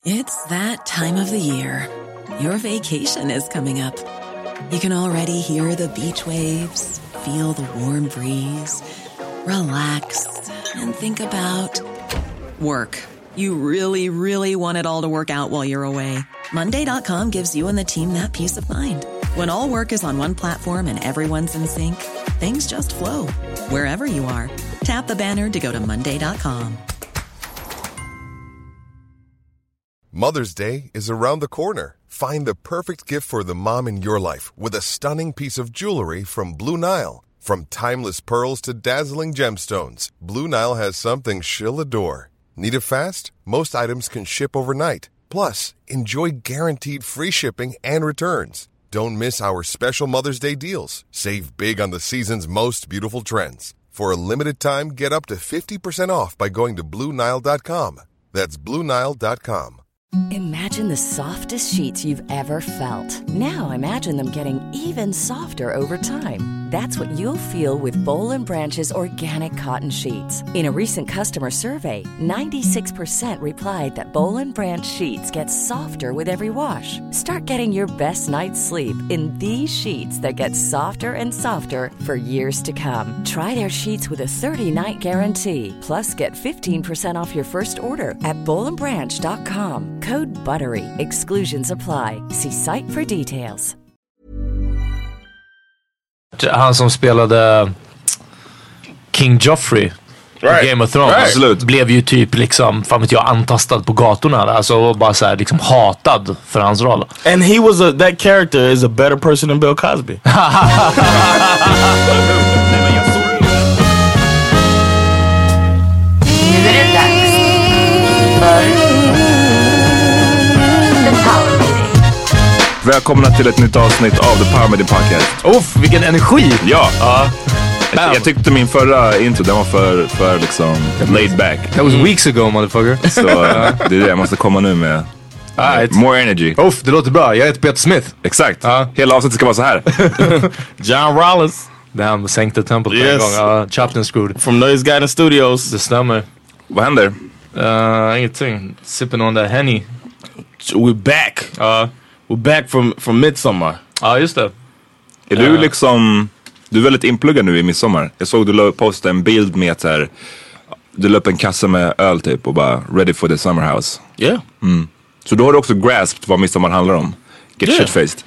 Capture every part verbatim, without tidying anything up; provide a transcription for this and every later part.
It's that time of the year. Your vacation is coming up. You can already hear the beach waves, feel the warm breeze, relax, and think about work. You really, really want it all to work out while you're away. Monday dot com gives you and the team that peace of mind. When all work is on one platform and everyone's in sync, things just flow. Wherever you are, tap the banner to go to monday dot com. Mother's Day is around the corner. Find the perfect gift for the mom in your life with a stunning piece of jewelry from Blue Nile. From timeless pearls to dazzling gemstones, Blue Nile has something she'll adore. Need it fast? Most items can ship overnight. Plus, enjoy guaranteed free shipping and returns. Don't miss our special Mother's Day deals. Save big on the season's most beautiful trends. For a limited time, get up to fifty percent off by going to blue nile dot com. That's blue nile dot com. Imagine the softest sheets you've ever felt. Now imagine them getting even softer over time. That's what you'll feel with Boll and Branch's organic cotton sheets. In a recent customer survey, ninety-six percent replied that Boll and Branch sheets get softer with every wash. Start getting your best night's sleep in these sheets that get softer and softer for years to come. Try their sheets with a thirty-night guarantee. Plus, get fifteen percent off your first order at boll and branch dot com. Code BUTTERY. Exclusions apply. See site for details. Han som spelade King Joffrey right. Game of Thrones right. blev ju typ liksom, fan vet jag, antastad på gatorna. Alltså bara så här, liksom hatad för hans roll. And he was a, that character is a better person than Bill Cosby. Nu är det dags för Välkomna till ett nytt avsnitt av The Power Media Podcast. Uff, vilken energi! Ja, ja. Jag, jag tyckte min förra intro, den var för, för liksom laid back. That was weeks ago, motherfucker. Så det är det jag måste komma nu med. Ah, more energy. Uff, det låter bra. Jag heter Peter Smith. Exakt. Uh. Hela avsnittet ska vara så här. John Rollins. Damn, sänkte tempot yes. på en gång. Uh, chopped and screwed. From Noise Garden Studios. Det stämmer. Vad händer? Uh, ingenting. Sipping on that Henny. We're back. Uh, we're back from, from Midsommar. Ja, uh, just det. Är uh. du liksom... Du är väldigt inpluggad nu i midsommar. Jag såg du postade en bild med att här, du la upp en kassa med öl typ och bara ready for the summer house. Yeah. Mm. Så då har du också grasped vad midsommar handlar om. Get yeah. shit-faced.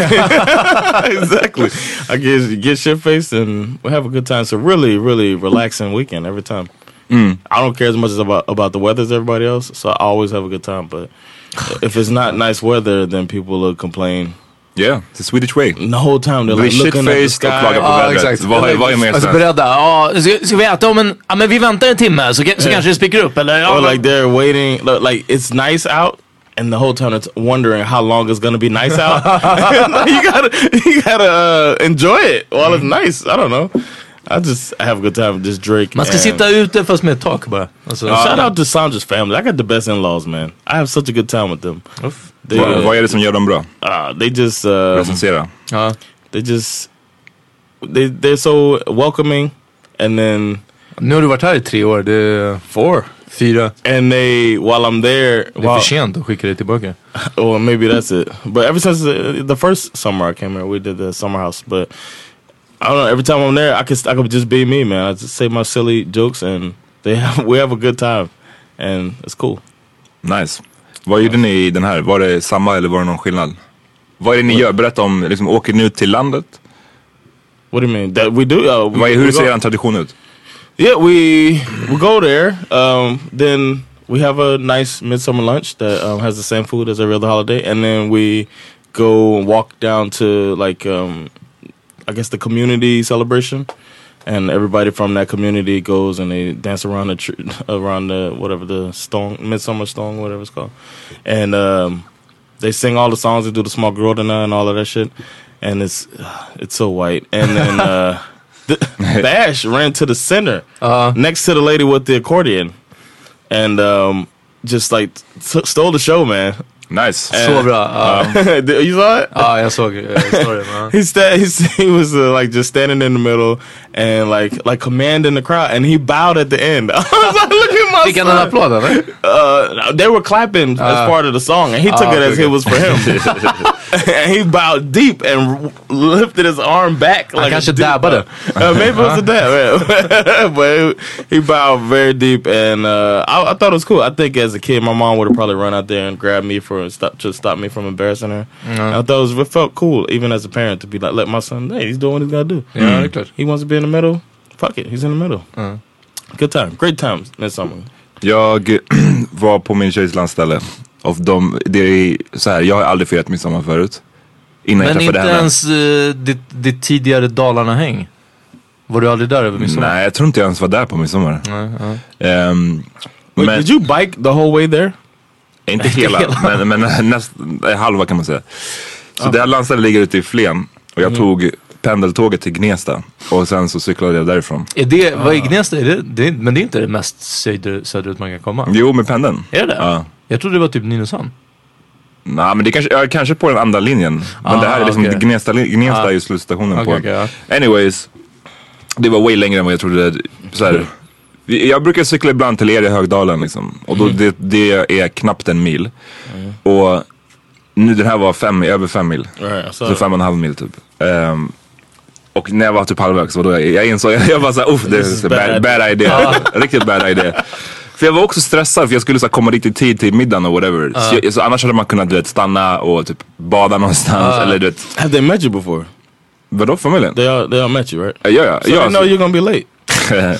Yeah, exactly. I get, get shit-faced and we have a good time. So really, really relaxing weekend every time. Mm. I don't care as much as about, about the weather as everybody else. So I always have a good time. But if it's not nice weather, then people will complain. Yeah, it's the Swedish way. The whole time they're like looking at the sky. Och klaga på ah, vädret. Exakt. Vad är, vad är mer alltså beredda. Ja, ska, ska vi äta om en... Ja, men vi väntar en timme så, så yeah. kanske det spickar upp. Eller, ja, or like they're waiting. Like it's nice out. And the whole time it's wondering how long it's gonna be nice out. you gotta, you gotta uh, enjoy it while it's nice. I don't know. I just I have a good time. Just drink. Man ska sitta ute fast med ett tak bara. Alltså, uh, shout out to Sandra's family. I got the best in-laws, man. I have such a good time with them. They, uh, vad är det som gör dem bra? Uh, they just uh, recensera. Uh, they just they they're so welcoming, and then nu har du varit här i tre år. Det är four. Fyra. And they, while I'm there... Det är för sent att skicka det tillbaka. Well, maybe that's it. But ever since the, the first summer I came here, we did the summer house. But I don't know, every time I'm there, I could, I could just be me, man. I just say my silly jokes and they have, we have a good time. And it's cool. Nice. Vad gjorde ni i den här? Var det samma eller var det någon skillnad? Vad är det ni gör? Berätta om, liksom, åker ni ut till landet? What do you mean? That we do? Uh, we, Vad är, hur we ser er tradition ut? Yeah, we we go there. Um, then we have a nice midsummer lunch that um, has the same food as every other holiday, and then we go and walk down to like um, I guess the community celebration, and everybody from that community goes and they dance around the tr- around the whatever the stone midsummer stone whatever it's called, and um, they sing all the songs. They do the small grodorna and all of that shit, and it's it's so white, and then. Uh, The, Bash ran to the center uh, next to the lady with the accordion and um, just like t- stole the show, man. Nice. Så bra. Uh, you saw it? Ja, jag såg uh, storyn. Uh. He sta- he, he was uh, like just standing in the middle and like like commanding the crowd, and he bowed at the end. I was like, look at my Fick han son. en applåd eller? Uh, they were clapping uh, as part of the song, and he took uh, it as okay. it was for him. And he bowed deep and lifted his arm back. Han like kanske a deep dabbade. Uh, maybe it was a dab, yeah. But he, he bowed very deep, and uh, I, I thought it was cool. I think as a kid, my mom would have probably run out there and grabbed me for stop to stop me from embarrassing her. Mm. I thought it, was, it felt cool, even as a parent, to be like, let my son, hey, he's doing what he's gotta do. Ja, det är klart. He wants to be in the middle. Fuck it, he's in the middle. Mm. Good time, great times midsummer. Jag var på min tjejs landställe. Och de, det är så här, jag har aldrig firat midsommar förut. Innan Men jag inte henne. ens uh, ditt, ditt tidigare Dalarna-häng? Var du aldrig där över midsommar? Nej, jag tror inte jag ens var där på midsommar. Nej, ja. Um, Wait, men, did you bike the whole way there? Inte hela, men, men näst, halva kan man säga. Så det här landstället ligger ute i Flen. Och jag mm. tog pendeltåget till Gnesta. Och sen så cyklade jag därifrån. Är det, vad är Gnesta? Är det, det, men det är inte det mest söder, söderut man kan komma? Jo, med pendeln. Är det? Ja. Jag trodde det var typ Nynäshamn. Nej, men det kanske, ja, kanske på den andra linjen. Men ah, det här är liksom okay. Gnesta, Gnesta ah. är ju slutstationen okay, på. Okay, ja. Anyways, det var way längre än vad jag trodde. Så här, jag brukar cykla ibland till er i Högdalen liksom. Och då, mm. det, det är knappt en mil. Mm. Och nu den här var fem, över fem mil. Right, så fem och en halv mil typ. Um, och när jag var typ halvvägs, då jag, jag insåg, jag var såhär, uff, det är bad, bad idea. Riktigt bad idea. För jag var också stressad för jag skulle så här, komma riktigt tid till middagen och whatever. Uh. Så, jag, så annars hade man kunnat du vet, stanna och typ bada någonstans. Uh. Eller, du vet. Have they met you before? Vadå, familjen? They all, they all met you, right? Uh, ja, ja. So ja, they know you're gonna be late.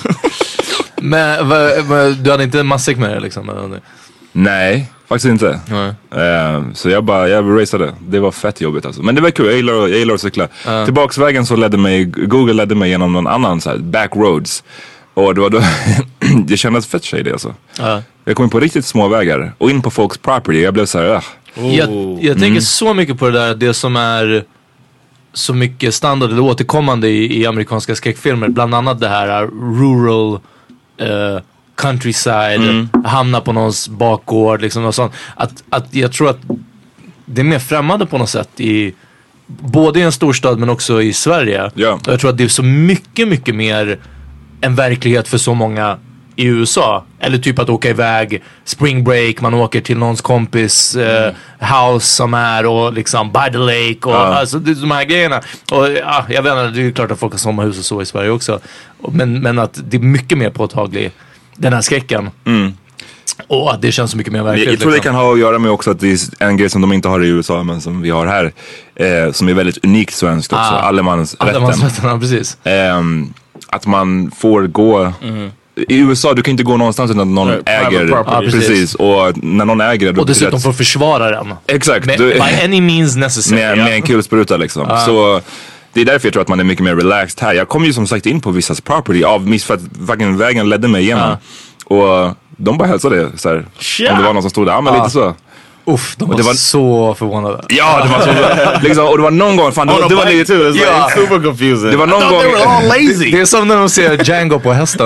Men va, va, du hade inte en matsäck med dig liksom? Eller? Nej, faktiskt inte. Nej. Uh, så jag bara, jag raceade. Det var fett jobbigt alltså. Men det var kul, jag gillar, jag gillar att cykla. Uh. Tillbaksvägen så ledde mig, Google ledde mig genom någon annan så här, backroads. Och det var då, det kändes fett shady alltså. Uh. Jag kom in på riktigt små vägar och in på folks property. Jag blev så här, uh. Jag, jag tänker mm. så mycket på det där, det som är så mycket standard eller återkommande i, i amerikanska skräckfilmer. Bland annat det här rural uh, countryside, mm. hamna på någons bakgård liksom och sånt. Att, att jag tror att det är mer främmande på något sätt i både i en storstad men också i Sverige. Yeah. Jag tror att det är så mycket, mycket mer en verklighet för så många i U S A. Eller typ att åka iväg spring break, man åker till någons kompis eh, mm. house som är och liksom by the lake och uh. alltså det, de här grejerna. Och ja, jag vet inte, det är klart att folk har sommarhus och så i Sverige också. Men, men att det är mycket mer påtagligt den här skräcken. Mm. Och det känns så mycket mer verkligt. Jag tror liksom. det kan ha att göra med också att det är en grej som de inte har i U S A men som vi har här. Eh, som är väldigt unikt svenskt också. Ah. Allemansrätten. Allemansrätten, ja, precis. Eh, att man får gå... Mm. I U S A, du kan inte gå någonstans utan att någon right, äger. Ja, precis. precis. Och när någon äger det... Och dessutom får försvara den. Exakt. Med, by any means necessary. Med, med en kulspruta liksom. Ah. Så... Det är därför jag tror att man är mycket mer relaxed här. Jag kom ju som sagt in på vissas property av miss för att vägen ledde mig igenom. Ja. Och de bara hälsade så här. Yeah. Om det var någon som stod där, ja men ja. lite så. Uff, de var, det var så förvånade. Ja, det var så liksom, och det var någon gång fan, det, oh, det var lite too. Yeah. Super confusing. Det var någon gång all lazy. Det är som när de ser Django på hästen.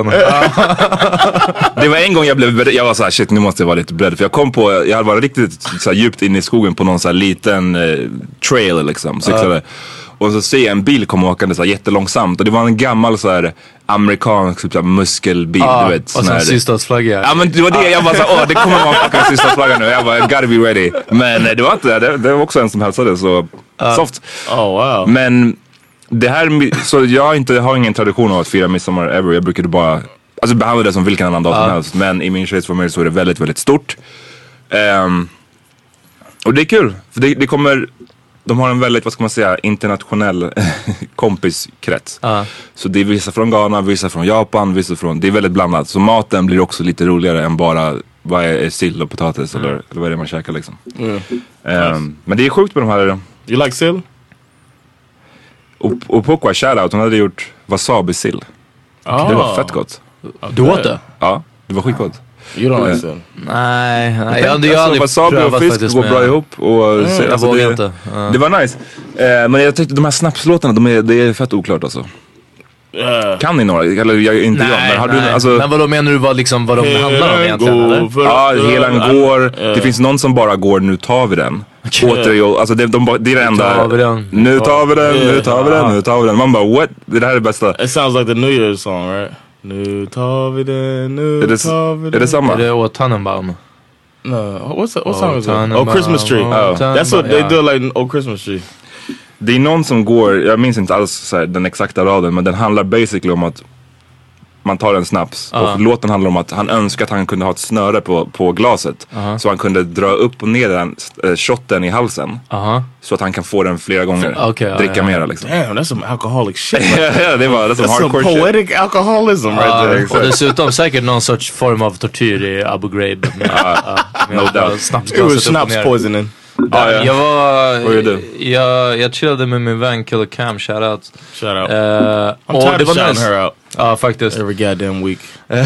Det var en gång jag blev jag var så här shit, nu måste jag vara lite beredd för jag kom på jag hade varit riktigt så här, djupt in i skogen på någon så här liten eh, trail liksom så uh. Och så ser jag en bil komma åkande så här jättelångsamt. Och det var en gammal så här amerikansk typ så här muskelbil, ah, du vet. Och så sydstatsflagga. Ja men det var det, jag bara såhär, åh det kommer vara en sydstatsflagga nu. Jag bara, gotta be ready. Men det var inte det, det var också en som hälsade så uh. soft. Oh wow. Men det här, så jag inte, har ingen tradition av att fira midsommar ever. Jag brukade bara, alltså behandla det som vilken annan dag som uh. helst. Men i min tjejs familj så är det väldigt, väldigt stort. Um, och det är kul, för det, det kommer... De har en väldigt, vad ska man säga, internationell kompiskrets. Uh. Så det är vissa från Ghana, vissa från Japan, vissa från... Det är väldigt blandat. Så maten blir också lite roligare än bara vad är sill och potatis mm. eller, eller vad är det man käkar liksom. Mm. Um, nice. Men det är sjukt med de här... You like sill? Och, och Pokwa, shoutout, hon hade gjort wasabi-sill. Oh. Det var fett gott. Okay. Du åt det? Ja, det var skitgott. You don't like sill? Nej, nej jag, jag, jag alltså, wasabi och fisk går bra ihop och mm, så, jag alltså, vågar det, inte uh. det var nice uh, men jag tyckte de här snapslåtarna de är, det är fett oklart alltså. Uh, Kan ni några? Eller jag, inte Nej, jag, men har nej. du alltså... Men vad då menar du vad, liksom, vad de handlar om egentligen? Eller? Ja, helan går. Det finns någon som bara går, nu tar vi den. Åter, alltså det, de, det är det enda. Nu tar vi den, nu tar vi den, nu tar vi den. Man bara, what? Det här är det bästa. It sounds like the New Year's song, right? Nu tar vi den, nu är det, tar vi den. Är det samma? Är det Å Tannenbaum? No, what's that, what Oh, song is it? Tannenbaum, Oh, Christmas Tree. oh, Oh, that's what they yeah. do, like, oh, Christmas Tree. Det är någon som går, jag minns inte alls så här, den exakta raden, men den handlar basically om att man tar en snaps uh-huh. och låten handlar om att han önskar att han kunde ha ett snöre på, på glaset uh-huh. så han kunde dra upp och ner den äh, shotten i halsen uh-huh. så att han kan få den flera gånger, okay, dricka uh, mera liksom. Damn, that's some alcoholic shit. Ja, det var, that's some that's hardcore some poetic shit. Alcoholism right uh, there. Och dessutom säkert någon sorts form av tortyr i Abu Ghraib. Med, uh, med no doubt. It was snaps poisoning. Ah, ja. Jag var, Vad gjorde du? Jag, jag chillade med min vän Killer Cam, shoutout. Shoutout. Uh, I'm och tired det of var shouting nice. her out. Ja, faktiskt. Every goddamn week.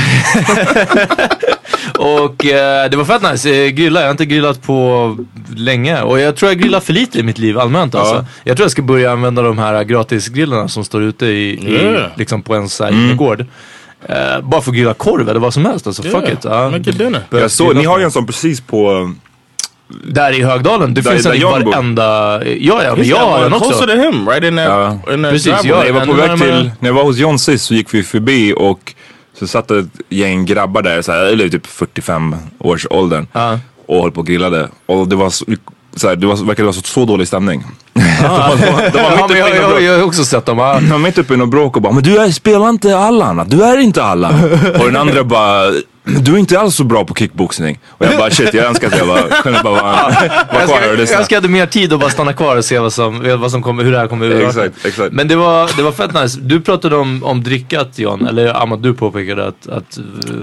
Och uh, det var fett nice. Grilla, jag har inte grillat på länge. Och jag tror jag grillar för lite i mitt liv allmänt alltså. Ja. Jag tror jag ska börja använda de här gratisgrillarna som står ute i, yeah. i liksom på en sån här mm. gård. Uh, bara för att grilla korv eller vad som helst alltså, yeah. fuck it. Uh, Make it dinner. Jag såg, ni har ju en sån precis på... Där i Högdalen, det där, finns en i varenda... Ja, ja, men jag har den också. Closer to him, right in that, ja. in that precis, ja, när jag var på väg till... När jag var hos John sist så gick vi förbi och så satt ett gäng grabbar där, så här, eller typ fyrtiofem års åldern uh. och höll på och grillade. Och det var så, så här, det var, verkade vara så, så dålig stämning. Ah. de var, de var ja, men jag, jag, jag har också sett dem. Ah. De var mitt uppe i något bråk och bara, men du är, spelar inte Allan, du är inte Allan. Och den andra bara... Du är inte alls så bra på kickboxning. Och jag bara shit, jag önskar att jag bara kunde bara vara, vara kvar och lyssna. Jag önskar att jag hade mer tid och bara stanna kvar och se vad som, vad som kommer, hur det här kommer ut. Exakt, exakt. Men det var, det var fett nice. Du pratade om, om drickat, John. Eller Ahmad, du påpekade att, att,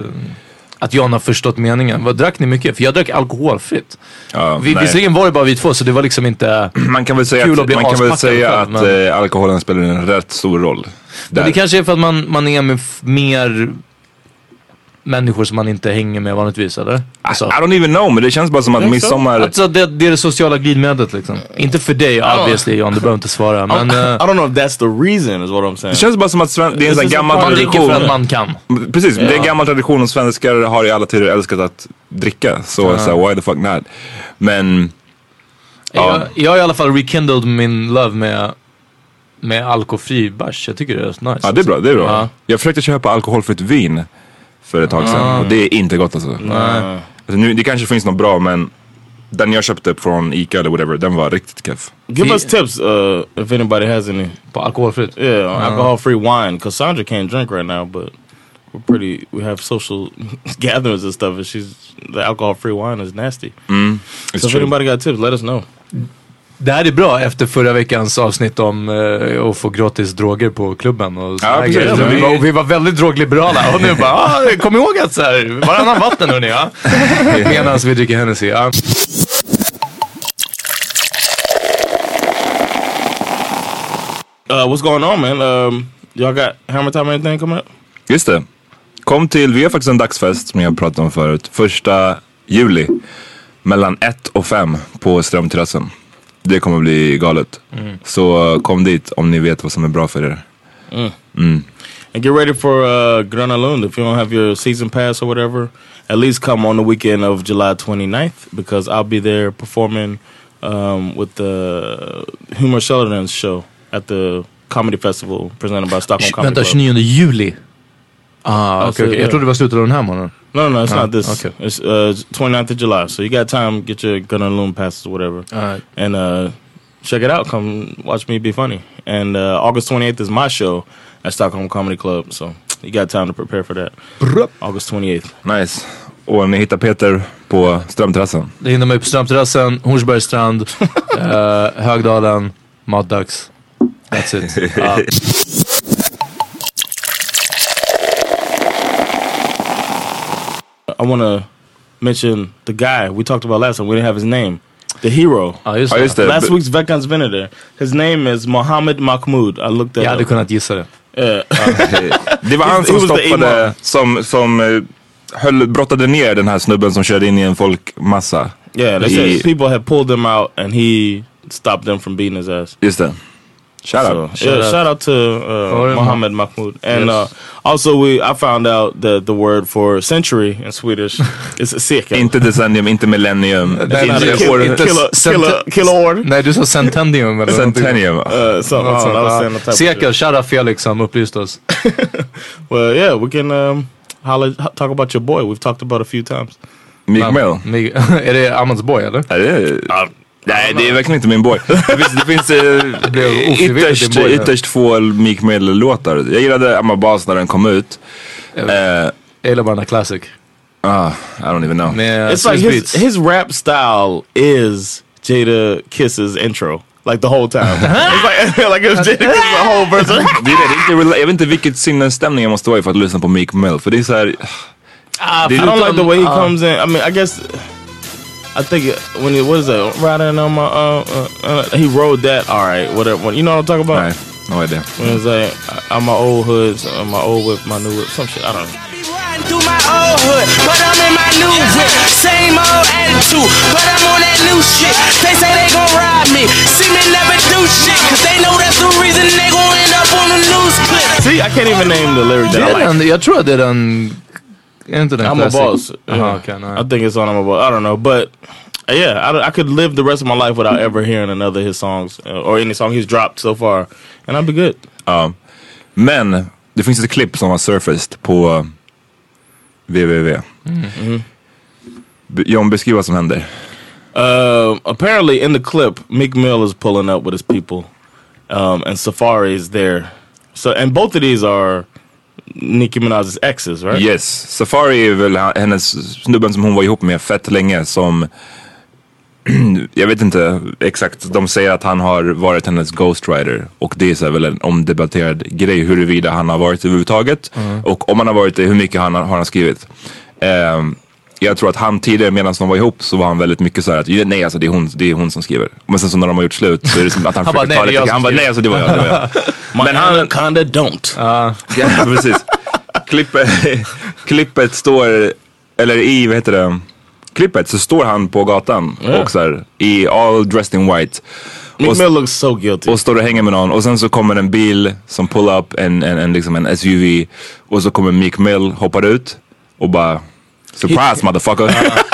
att John har förstått meningen. Vad drack ni mycket? För jag drack alkoholfritt. Ja, vi, visserligen var det bara vi två, så det var liksom inte man kan väl säga kul att, att bli man kan väl säga själv, att men... äh, alkoholen spelar en rätt stor roll. Men det kanske är för att man, man är med f- mer... människor som man inte hänger med vanligtvis, eller? Alltså. I, I don't even know, men det känns bara som att midsommar... Alltså det, det är det sociala glidmedlet liksom. Mm. Inte för dig, obviously, John, du behöver inte svara. Men, uh, I don't know if that's the reason is what I'm saying. Det känns bara som att sven- det är en sån gammal man tradition. Man dricker för att man kan. Precis, yeah. Det är en gammal tradition och svenskar har i alla tider älskat att dricka. Så uh. så why the fuck not? Men... Jag, uh. jag har i alla fall rekindled min love med... med alkoholfri bärs. Jag tycker det är nice. Ja, det är bra, det är bra. Uh. Jag försökte köpa alkoholfritt vin för ett tag sedan. Mm. Och det är inte gott alltså. Mm. Alltså nu, det kanske finns något bra, men den jag köpte från Ica eller whatever, den var riktigt keff. Give us tips uh, if anybody has any. På alkoholfritt? Yeah, mm. alcohol-free wine. Because Sandra can't drink right now, but we're pretty, we have social gatherings and stuff, and she's, the alcohol-free wine is nasty. Mm. So if anybody got tips, let us know. Det här är bra efter förra veckans avsnitt om uh, att få gratis droger på klubben och ja, precis, ja, vi, var, vi var väldigt drogliberala och nu bara, ah, kom ihåg att så här, varannan vatten hörni, ja. Medan vi dricker Hennessy, ja. Uh, what's going on, man? Um, y'all got Hammer Time or anything coming up? Just det. Kom till, vi har faktiskt en dagsfest som jag pratade om förut. Första juli. Mellan ett och fem på Strömterrassen. Det kommer bli galet. Mm. Så kom dit om ni vet vad som är bra för er. Mm. Mm. And get ready for uh, Gröna Lund. If you don't have your season pass or whatever, at least come on the weekend of July twenty-ninth, because I'll be there performing um, with the Humor Sheldon's show at the comedy festival presented by Stockholm Comedy Vänta, Club. tjugonionde juli? Ah, okej, okay, okay. Jag trodde det var slutet av den här månaden. No, no, it's ah, not this. Okay. It's uh, twenty-ninth of July. So you got time, get your Gröna Lund passes or whatever. All right. And uh, check it out. Come watch me be funny. And uh, August twenty-eighth is my show at Stockholm Comedy Club. So you got time to prepare for that. Brr. August twenty-eighth. Nice. Och ni hittar Peter på Strömterrassen. Det hinner mig på Strömterrassen, Hornsbergsstrand, uh, Högdalen, matdags. That's it. Uh. I want to mention the guy we talked about last time. We didn't have his name. The hero. Ah, just ah, just det. Last week's Veckans Vinner there. His name is Mohammed Mahmoud. I looked at. Jag hade kunnat gissa det. Yeah. Det var han som stoppade, som, som uh, höll, brottade ner den här snubben som körde in i en folkmassa. Yeah, they said people had pulled him out and he stopped them from beating his ass. Just det. Shout out. So, shout yeah, out. shout out to uh, Mohammed Mahmoud. And yes. uh, also we I found out that the word for century in Swedish is sekel. Inte decennium, inte millennium. Kiloår. Nej, du sa centennium eller centennium. Uh, so, uh, sekel, shout out Felix som upplyst oss. Well, yeah, we can um, holla, talk about your boy. We've talked about a few times. Meek Mill. Är det Amands boy eller? Ja, det är... Uh, Nej, det är verkligen inte min boy. Det finns, det finns äh, ytterst, boy, ytterst få Meek Mill-låtar. Jag gillade I'm a Boss när den kom ut. Jag uh, gillar bara den classic. Ah, I don't even know. Med It's like his, his rap style is Jada Kiss's intro. Like the whole time. It's like, like it's Jada Kiss the whole version. det är, det är inte, jag vet inte vilket sinnesstämning jag måste vara i för att lyssna på Meek Mill. För det är så här... Uh, I don't like the way he uh, comes in. I mean, I guess... I think when he what is that riding on my uh, uh, uh he rode that all right whatever when, you know what I'm talking about? Right. No idea. When it's like I'm my old hoods, I'm my old whip, my new whip, some shit I don't know. Riding through my old hood, but I'm in my new whip. Same old attitude, but I'm on that new shit. They say they gon' ride me, see me never do shit, cause they know that's the reason they gon' end up on the news clip. See, I can't even name the lyric that I like. Jag tror att det är den. I'm a boss. Yeah. Uh-huh, okay, no. I think it's on I'm a boss. I don't know, but yeah, I, I could live the rest of my life without ever hearing another of his songs uh, or any song he's dropped so far, and I'd be good. Ja, men det finns ett klipp som har surfaced på www. Mm. Mm. John, beskriv vad som händer. Uh, apparently, in the clip, Meek Mill is pulling up with his people, um, and Safari is there. So, and both of these are Nicki Minaj's exes, right? Yes, Safari är väl hennes snubben som hon var ihop med fett länge som jag vet inte exakt, de säger att han har varit hennes ghostwriter och det är så väl en omdebatterad grej huruvida han har varit överhuvudtaget mm. och om han har varit det, hur mycket han har, har han skrivit. Um, jag tror att han tidigare medan de var ihop så var han väldigt mycket så här att nej alltså det är hon, det är hon som skriver. Men sen så när de har gjort slut så är det som att han, han försöker bara, ta lite. Han bara nej alltså det var jag, det var jag. Men han kinda don't. Uh. Ja, precis. Klippet, klippet står, eller i, vad heter det? Klippet så står han på gatan yeah. och så här, i all dressed in white. Meek Mill looks so guilty. Och står och hänger med någon och sen så kommer en bil som pull up en, en, en, liksom en S U V och så kommer Meek Mill hoppar ut och bara surprise he, motherfucker.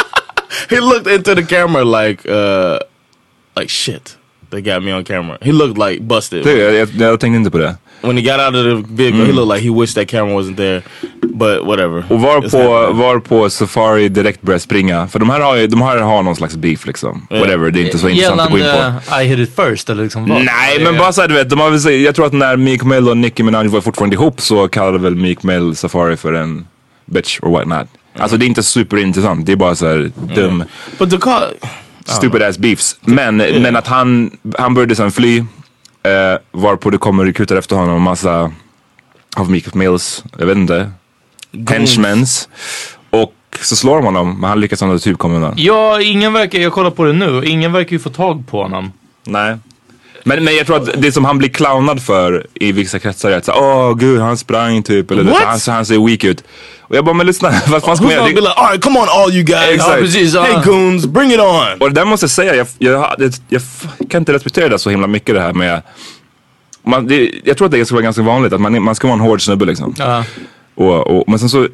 He looked into the camera like uh, like shit. They got me on camera. He looked like busted. Det, jag, jag, jag tänkte inte på det. When he got out of the vehicle, mm. he looked like he wished that camera wasn't there. But whatever. Och var på, var på Safari direkt började springa. För de här har ju, de här har någon slags beef liksom. Yeah. Whatever, det är inte så intressant att gå in på. I hit it first eller liksom vad? Nej, men bara såhär du vet, de har väl sagt, jag tror att när Meek Mill och Nicki Minaj var fortfarande ihop så kallade väl Meek Mill Safari för en bitch or what not. Mm. Alltså det är inte superintressant, det är bara såhär dum. Mm. But the call... Stupid ass beefs. Men, yeah. men att han, han började sen fly. Uh, varpå det kommer rekryter efter honom. Massa av Meek Mills, jag vet inte. Henchmens. Och så slår de honom. Men han lyckas ändå typ komma undan. Ja, ingen verkar, jag kollar på det nu. Ingen verkar ju få tag på honom. Nej. Men, men jag tror att det som han blir clownad för i vissa kretsar är att åh oh, gud han sprang typ. Eller det, han, han ser weak ut. Och jag bara, men lyssna, vad fan ska man göra? Like, all right, come on all you guys. Exakt. Oh, precis, uh. Hey goons, bring it on. Och det där måste jag säga, jag, jag, jag, jag kan inte respektera det så himla mycket det här med... Man, det, jag tror att det ska vara ganska vanligt att man, man ska vara en hård snubbe liksom. Uh. Och, och, men sen så...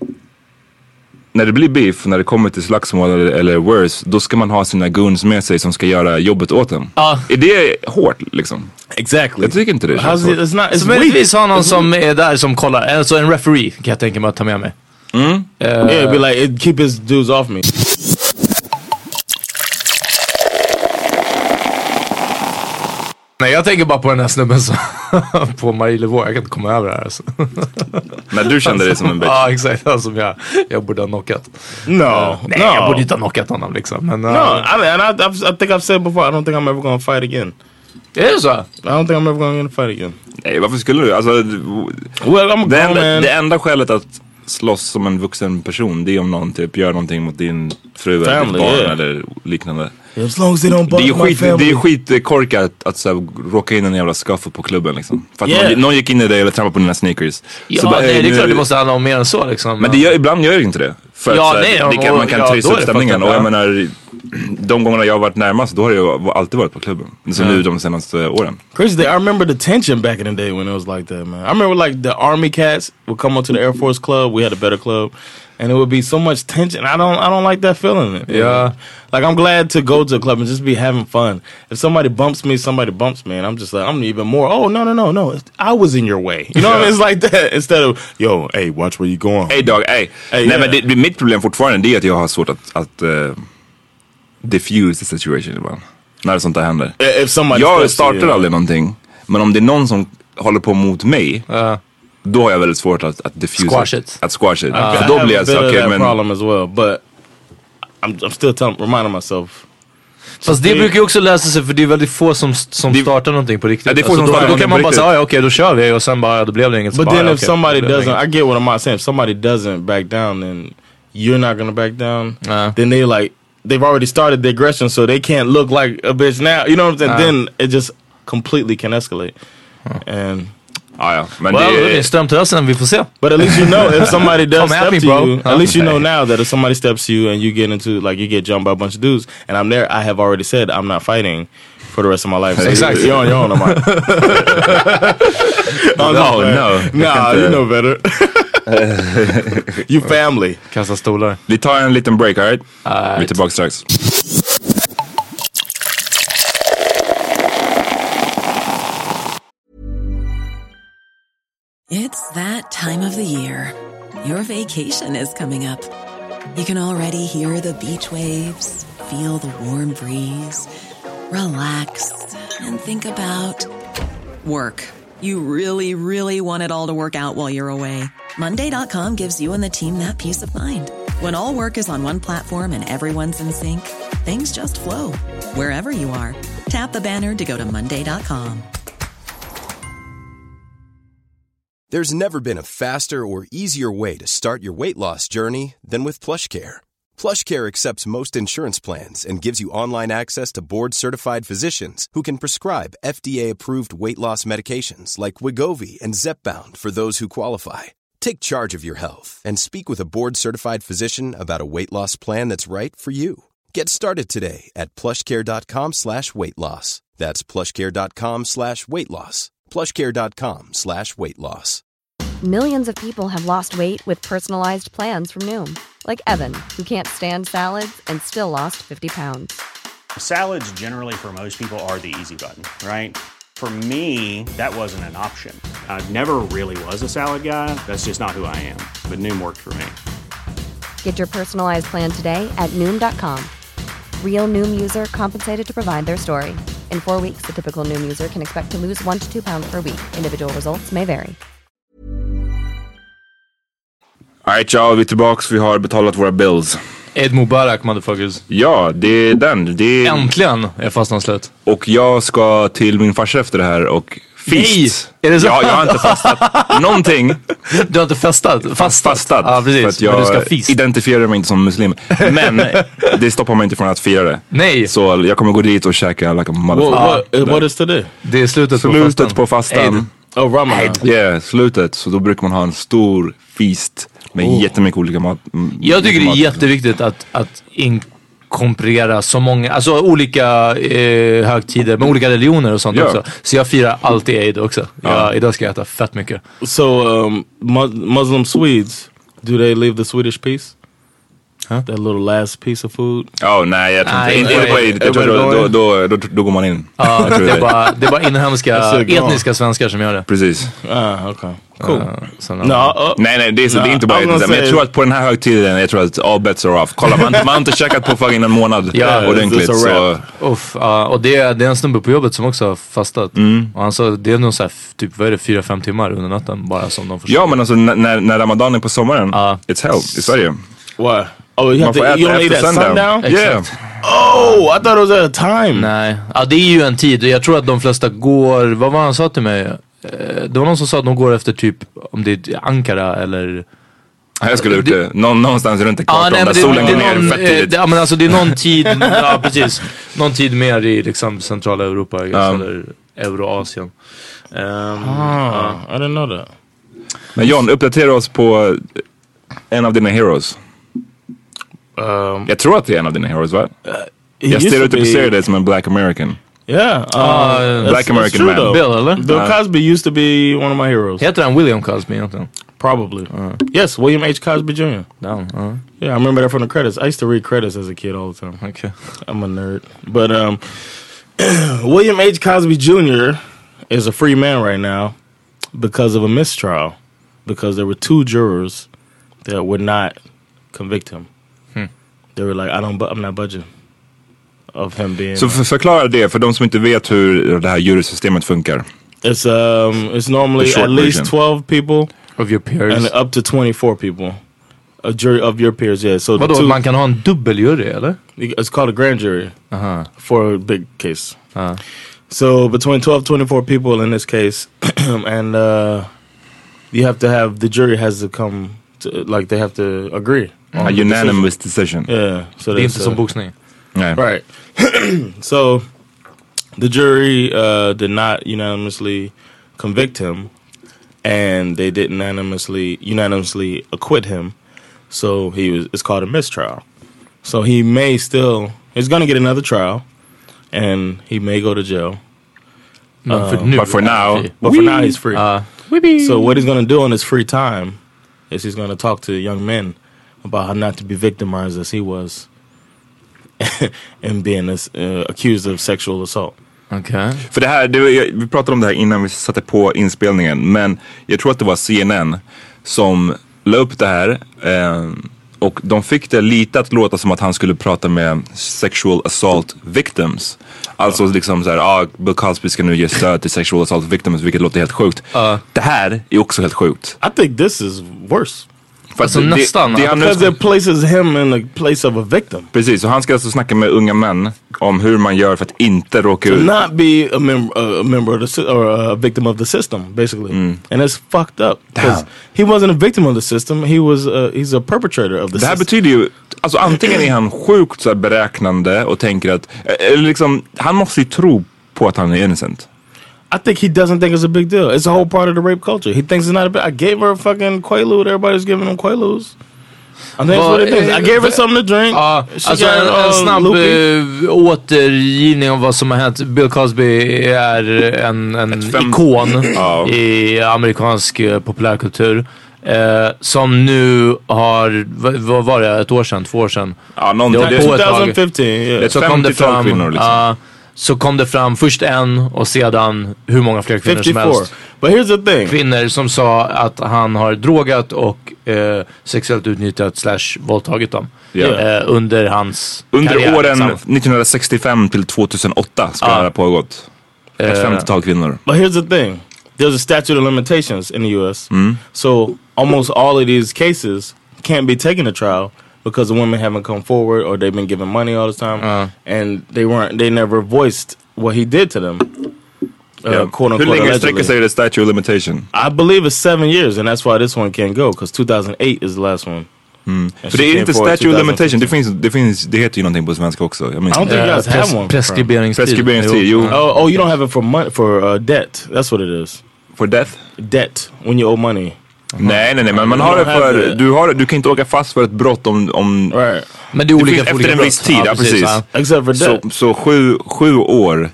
När det blir beef, när det kommer till slagsmål eller, eller worse, då ska man ha sina goons med sig som ska göra jobbet åt dem. Uh. Är det hårt liksom? Exactly. Jag tycker inte det. It's not, så möjligtvis ha någon som är där som kollar, alltså en referee kan jag tänka mig att ta med mig. Mm. Uh, yeah, be like, it keep his dudes off me. Nej, jag tänker bara på den här snubben som på Marie Levaux. Jag kan inte komma över det här alltså. Men du kände det som en bitch. Ja, exakt. Som jag, jag borde ha knockat. No, uh, nej, no. jag borde inte ha knockat honom liksom. Men, uh, no, I, mean, I, I, I think I've said before, I don't think I'm ever gonna fight again. Är det så? I don't think I'm ever gonna fight again. Nej, varför skulle du? Alltså, well, I'm a det, enda, det enda skälet att slåss som en vuxen person, det är om någon typ gör någonting mot din fru eller ditt barn yeah. eller liknande. As long as they don't det är ju skit, det är skit korkat att, att så här, råka in en jävla skaffel på klubben liksom. För att yeah. någon, någon gick in i dig eller trampade på dina sneakers. Ja, så bara, nej, det är klart det måste handla om mer än så liksom. Men det gör, ibland gör det inte det. För ja, att, nej, här, det kan, man kan ja, trissa upp stämningen. Och jag menar, de gångerna jag har varit närmast, då har jag alltid varit på klubben. Så yeah. nu de senaste åren. Crazy thing, I remember the tension back in the day when it was like that, man. I remember like the army cats would come up to the Air Force club. We had a better club. And it would be so much tension. I don't I don't like that feeling. Yeah. Like I'm glad to go to a club and just be having fun. If somebody bumps me, somebody bumps me, and I'm just like, I'm even more, oh, no, no, no, no. I was in your way. You know what I mean? It's like that. Instead of, yo, hey, watch where you going. Hey dog, hey. hey Nej, yeah. men det, mitt problem fortfarande är att jag har svårt att, att uh, diffuse the situation ibland. När sånt där händer. If somebody jag startar you, aldrig någonting, men om det är någon som håller på mot mig, uh. då har jag väldigt svårt att, att diffuse squash it. Att squash it. Uh, För då blir jag så, okej, men... problem as well, but I'm, I'm still telling, reminding myself. Fast det brukar ju också lösa sig, för det är väldigt få som, som det, startar någonting på riktigt. Ja, det är få alltså, som då, startar då kan man bara säga, ja okej, okay, då kör vi, och sen bara, då blev det inget. But bara, then ja, if okay, somebody doesn't, I get what I'm saying, if somebody doesn't back down, then you're not gonna back down. Uh. Then they like, they've already started the aggression, so they can't look like a bitch now. You know what I'm saying? Uh. Then it just completely can escalate. Uh. And... Ah, ja. Men well, det är strömtrösen, vi får se. But at least you know if somebody does step me, to bro. you, at least you know now that if somebody steps to you and you get into, like, you get jumped by a bunch of dudes, and I'm there, I have already said I'm not fighting for the rest of my life. So exactly. You're on your own, am I? oh, no, no. Nah, you know better. You family. Kasta stolar. Vi tar en liten break, alright? Right? Vi är tillbaka strax. It's that time of the year. Your vacation is coming up. You can already hear the beach waves, feel the warm breeze, relax, and think about work. You really, really want it all to work out while you're away. Monday dot com gives you and the team that peace of mind. When all work is on one platform and everyone's in sync, things just flow. Wherever you are, tap the banner to go to Monday dot com. There's never been a faster or easier way to start your weight loss journey than with PlushCare. PlushCare accepts most insurance plans and gives you online access to board-certified physicians who can prescribe F D A-approved weight loss medications like Wegovy and Zepbound for those who qualify. Take charge of your health and speak with a board-certified physician about a weight loss plan that's right for you. Get started today at plushcare.com slash weight loss. That's plushcare.com slash weight loss. plushcare.com slash weight loss. Millions of people have lost weight with personalized plans from Noom. Like Evan, who can't stand salads and still lost fifty pounds. Salads generally for most people are the easy button, right? For me, that wasn't an option. I never really was a salad guy. That's just not who I am. But Noom worked for me. Get your personalized plan today at Noom dot com. Real Noom user compensated to provide their story. In four weeks, the typical Noom user can expect to lose one to two pounds per week. Individual results may vary. Alright, ja, vi är tillbaks. Vi har betalat våra bills. Ed Mubarak, motherfuckers. Ja, det är den. Det är... Äntligen är fastan slut. Och jag ska till min farsa efter det här och feast. Nej, är det så? Ja, jag har inte fastat någonting. Du har inte festat? Fastat? Fastat. Ja, precis. För att jag men du ska feast. identifierar mig inte som muslim. Men det stoppar mig inte från att fira det. Nej. Så jag kommer gå dit och käka like a motherfucker. What is today? Det är slutet, slutet på fastan. På fastan. Oh, Ramadan. Ja, yeah, slutet. Så då brukar man ha en stor feast med oh. jättemycket olika mat. M- jag tycker mat. det är jätteviktigt att, att inkomprera så många, alltså olika eh, högtider med olika religioner och sånt yeah. också. Så jag firar alltid Eid också. Jag, uh. Idag ska jag äta fett mycket. So um, mu- Muslim Swedes, do they leave the Swedish piece? Huh? That little last piece of food? Oh nej, jag tror inte. Inte på Eid. Jag tror då, då, då, då går man in. Ja, det, är bara, det är bara inhemska, etniska svenskar som gör det. Precis. Ah, okay. Cool. Uh, no, uh, nej, nej, det är, så, no, det är inte bara etniska. Men jag tror att på den här högtiden, jag tror att all bets are off. Kolla, man, man har inte checkat på fucking en månad ja, ordentligt. Så. Uff, uh, och det, det är en snubbe på jobbet som också har fastat. Mm. Och han sa, det är nog så här, typ, vad är det, fyra, fem timmar under natten bara som de försöker. Ja, men alltså när, när Ramadan är på sommaren, uh, it's hell i Sverige. Why? Oh, you have to, you don't eat at sundown? sundown? Yeah. Oh, I thought it was at a time. Nej, ja, det är ju en tid. Jag tror att de flesta går, vad var han sa till mig? Det var någon som sa att de går efter typ, om det är Ankara eller... Jag skulle ut det, Nå- någonstans runt ekvatorn ah, nej, där det, solen det, går det ner någon, fett tidigt. Ja men alltså det är någon tid, ja precis, någon tid mer i liksom centrala Europa um. eller Euroasien. Um, ah, uh. I didn't know that. Men John, uppdatera oss på en av dina heroes. Um, Jag tror att det är en av dina heroes, va? Uh, jag stereotypiserar det som en black American. Yeah, uh, uh, black that's, American that's man. Though. Bill, eller? Bill Cosby used to be one of my heroes. Heter han William Cosby egentligen? Probably. Uh. Yes, William H. Cosby Junior Down. Uh. Yeah, I remember that from the credits. I used to read credits as a kid all the time. Okay. I'm a nerd. But um, William H. Cosby Junior is a free man right now because of a mistrial. Because there were two jurors that would not convict him. Hmm. They were like, I don't, I'm not budging. Of him being... Så för, förklara det för de som inte vet hur det här jurysystemet funkar. It's um, it's normally at least version. twelve people of your peers and up to twenty-four people. A jury of your peers, yeah. So vadå, man kan ha en dubbeljury, eller? It's called a grand jury uh-huh. for a big case. Uh-huh. So between twelve, twenty-four people in this case, and uh, you have to have the jury has to come to, like they have to agree. On a unanimous decision. decision. Yeah. So det är inte som boxning. Yeah. Right. So the jury uh, did not unanimously convict him, and they didn't unanimously unanimously acquit him. So he was. It's called a mistrial. So he may still. He's going to get another trial, and he may go to jail. Um, for but for now, but for now he's free. Uh, so what he's going to do in his free time is he's going to talk to young men about how not to be victimized as he was. And being uh, accused of sexual assault. Okay. För det här, det, vi pratade om det här innan vi satte på inspelningen. Men jag tror att det var C N N som la upp det här. Eh, och de fick det lite att låta som att han skulle prata med sexual assault victims. Alltså uh. liksom såhär, ah, Bill Cosby ska nu ge stöd till sexual assault victims, vilket låter helt sjukt. Uh. Det här är också helt sjukt. I think this is worse. Alltså nästan. Det, det because it places him in the place of a victim. Precis, så han ska alltså snacka med unga män om hur man gör för att inte råka ut. To not be a, mem uh, a member of the or a victim of the system, basically. Mm. And it's fucked up. Because he wasn't a victim of the system, he was uh, he's a perpetrator of the system. Det här system. betyder ju, alltså antingen är han sjukt så här beräknande och tänker att, eller liksom, han måste ju tro på att han är innocent. I think he doesn't think it's a big deal. It's a whole part of the rape culture. He thinks it's not a big... I gave her a fucking Quaalude. Everybody's giving them Quaaludes. I think that's what it is. I gave her something to drink. Ja, uh, alltså en, en snabb uh, återgivning av vad som har hänt. Bill Cosby är en, en ikon uh. i amerikansk uh, populärkultur. Uh, som nu har, vad, vad var det, ett år sedan, två år sedan? Ja, någon, det var på twenty fifteen. Yeah. Så kom det fram kvinnor liksom. Uh, Så kom det fram först en och sedan hur många fler kvinnor fifty-four. som helst. But here's the thing. Kvinnor som sa att han har drogat och eh, sexuellt utnyttjat slash våldtagit dem. Yeah. Eh, under hans Under karriär, åren liksom. nitton sextiofem till tjugohundraåtta ska uh, det ha pågått. Ett uh, femtiotal kvinnor. But here's the thing. There's a statute of limitations in the U S. Mm. So almost all of these cases can't be taken to trial. Because the women haven't come forward, or they've been given money all the time, uh. and they weren't. They never voiced what he did to them. Uh, yeah. quote unquote. Hur länge sträcker sig the statute of limitation? I believe it's seven years, and that's why this one can't go. Because two thousand eight is the last one. Mm. För det är inte statute of limitation. Det finns, det finns, det heter ju någonting på svenska också. I, mean, I don't think you guys uh, have one. Preskriberingstid. Preskriberingstid. Oh, oh, you don't have it for money for uh, debt. That's what it is. For death? Debt when you owe money. Uh-huh. Nej, nej, nej, men man har det för, du, har, du kan inte åka fast för ett brott om, om right. Men det är olika efter olika en viss tid, ja, precis. Ja. Except for så, så sju, sju år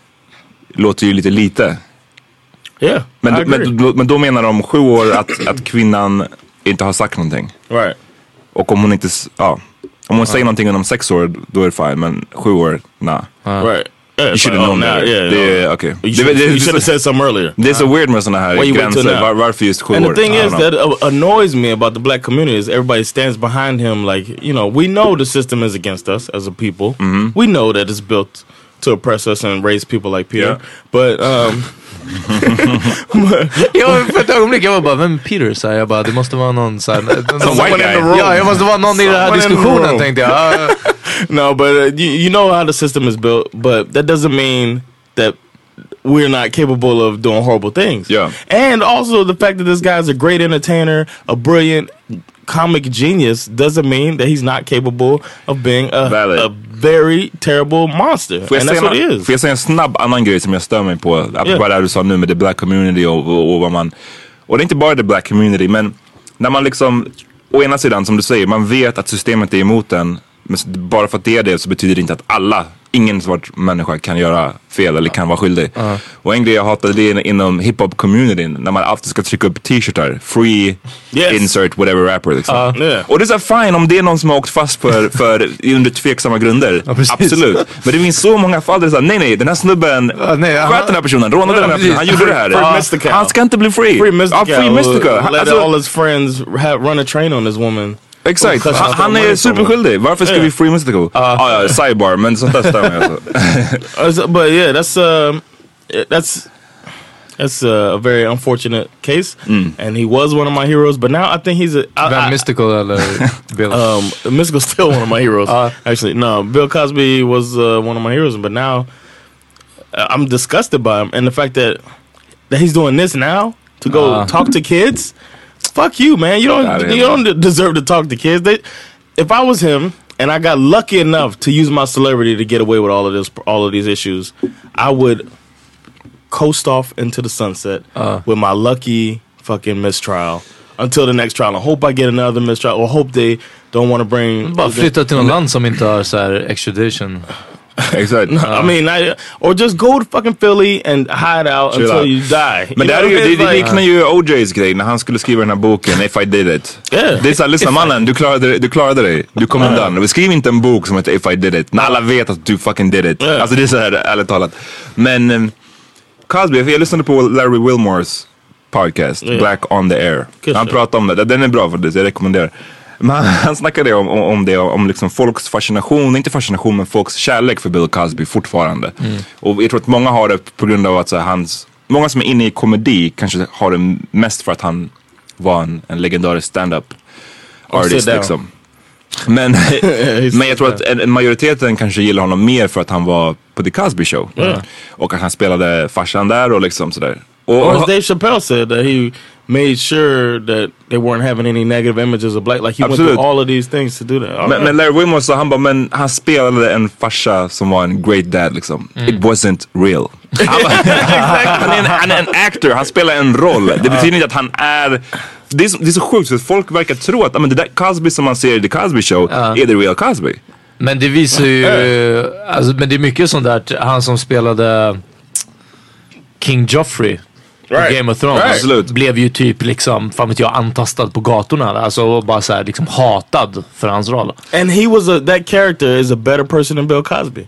låter ju lite lite. Yeah, men, men, men då menar de sju år att, att kvinnan inte har sagt någonting. Right. Och om hon inte, ja, om hon uh. säger någonting om sex år, då är det fine, men sju år, nah. Uh. Right. Yeah, you should have known that. Yeah, det, no. Okay. You should, you should have said something earlier. Det är så weird med såna här gränser. Var, varför just sju år? And the thing is that uh, annoys me about the black community is everybody stands behind him like, you know, we know the system is against us as a people. Mm-hmm. We know that it's built to oppress us and raise people like Peter. Yeah. But... Um, jag, för ett ögonblick jag var bara, vem Peter? Så jag bara, det måste vara någon så här, någon white guy. Ja, jag måste vara någon i den här diskussionen, tänkte jag. Uh. No, but uh, you, you know how the system is built, but that doesn't mean that we're not capable of doing horrible things. Yeah. And also the fact that this guy is a great entertainer, a brilliant comic genius, doesn't mean that he's not capable of being a, a very terrible monster. Får jag, and that's what en, it is. får jag säga en snabb annan grej som jag stör mig på? Apropå yeah. det du sa nu med the black community och, och, och vad man... Och det är inte bara the black community, men när man liksom å ena sidan som du säger, man vet att systemet är emot en, men bara för att det är det så betyder det inte att alla, ingen svart människa kan göra fel eller kan vara skyldig. Uh-huh. Och en grej jag hatade det är inom hiphop-communityn, när man alltid ska trycka upp t-shirtar, free, yes. insert, whatever rapper liksom. Uh, yeah. Och det är så fine om det är någon som har åkt fast för, för under tveksamma grunder. Ja, absolut. Men det finns så många fall där det är så här, nej nej, den här snubben uh, nej, sköt den här personen, rånade ja, den här personen, han gjorde det här. Free Mystica. Han ska inte bli free. Free Mystica. Ja, free Mystica. Han, let alltså, all his friends have, run a train on this woman. Exakt, han, han är superskyldig. Varför ska yeah. vi free Mystical? Uh, ah, ja, sidebar, men sånt där stämmer alltså. But yeah, that's uh, that's that's a very unfortunate case, mm. and he was one of my heroes. But now I think he's a I, I, Mystical eller Bill. Um, Mystical's still one of my heroes. Uh, Actually, no, Bill Cosby was uh, one of my heroes, but now uh, I'm disgusted by him and the fact that that he's doing this now to go uh. talk to kids. Fuck you, man. You don't yeah, you don't deserve to talk to kids. They, if I was him and I got lucky enough to use my celebrity to get away with all of this, all of these issues, I would coast off into the sunset uh. with my lucky fucking mistrial until the next trial. I hope I get another mistrial, or hope they don't want to bring. Bara flytta till något land som inte har så här extradition. Exactly. No, uh. I mean, I, or just go to fucking Philly and hide out Chill until out. you die. Men you det, är ju, det, det liknar ju O J's grej när han skulle skriva den här boken If I Did It. Yeah. Det är såhär, lyssna mannen, du klarade, du klarade dig. Du kom uh. undan. Skriv inte en bok som heter If I Did It när alla vet att du fucking did it. Yeah. Alltså det är såhär, ärligt talat. Men um, Cosby, jag lyssnade på Larry Wilmores podcast, yeah. Black on the Air. Good han pratade om det. Den är bra för det, jag rekommenderar. Men han, han snackade om, om, om det, om liksom folks fascination, inte fascination men folks kärlek för Bill Cosby fortfarande. Mm. Och jag tror att många har det på grund av att så här, hans, många som är inne i komedi kanske har det mest för att han var en, en legendarisk stand-up artist liksom. Men, men jag tror att en, en majoriteten kanske gillar honom mer för att han var på The Cosby Show. Mm. Och att han spelade farsan där och liksom sådär. Och, or as Dave Chappelle said, that he made sure that they weren't having any negative images of black. Like he Absolut. went through all of these things to do that. Men, right. men Larry Wilmore sa, han bara, men han spelade en farsa som var en great dad liksom. Mm. It wasn't real. Han, bara, han, är en, han är en actor, han spelar en roll. Det betyder inte att han är... Det är så, det är så sjukt, för folk verkar tro att men det där Cosby som man ser i The Cosby Show uh. är the real Cosby. Men det visar ju... Alltså, men det är mycket sånt där, han som spelade King Joffrey. Right. Game of Thrones right. blev ju typ liksom, fan vet jag, antastad på gatorna. Alltså bara så här, liksom hatad för hans roll. And he was a, that character is a better person than Bill Cosby.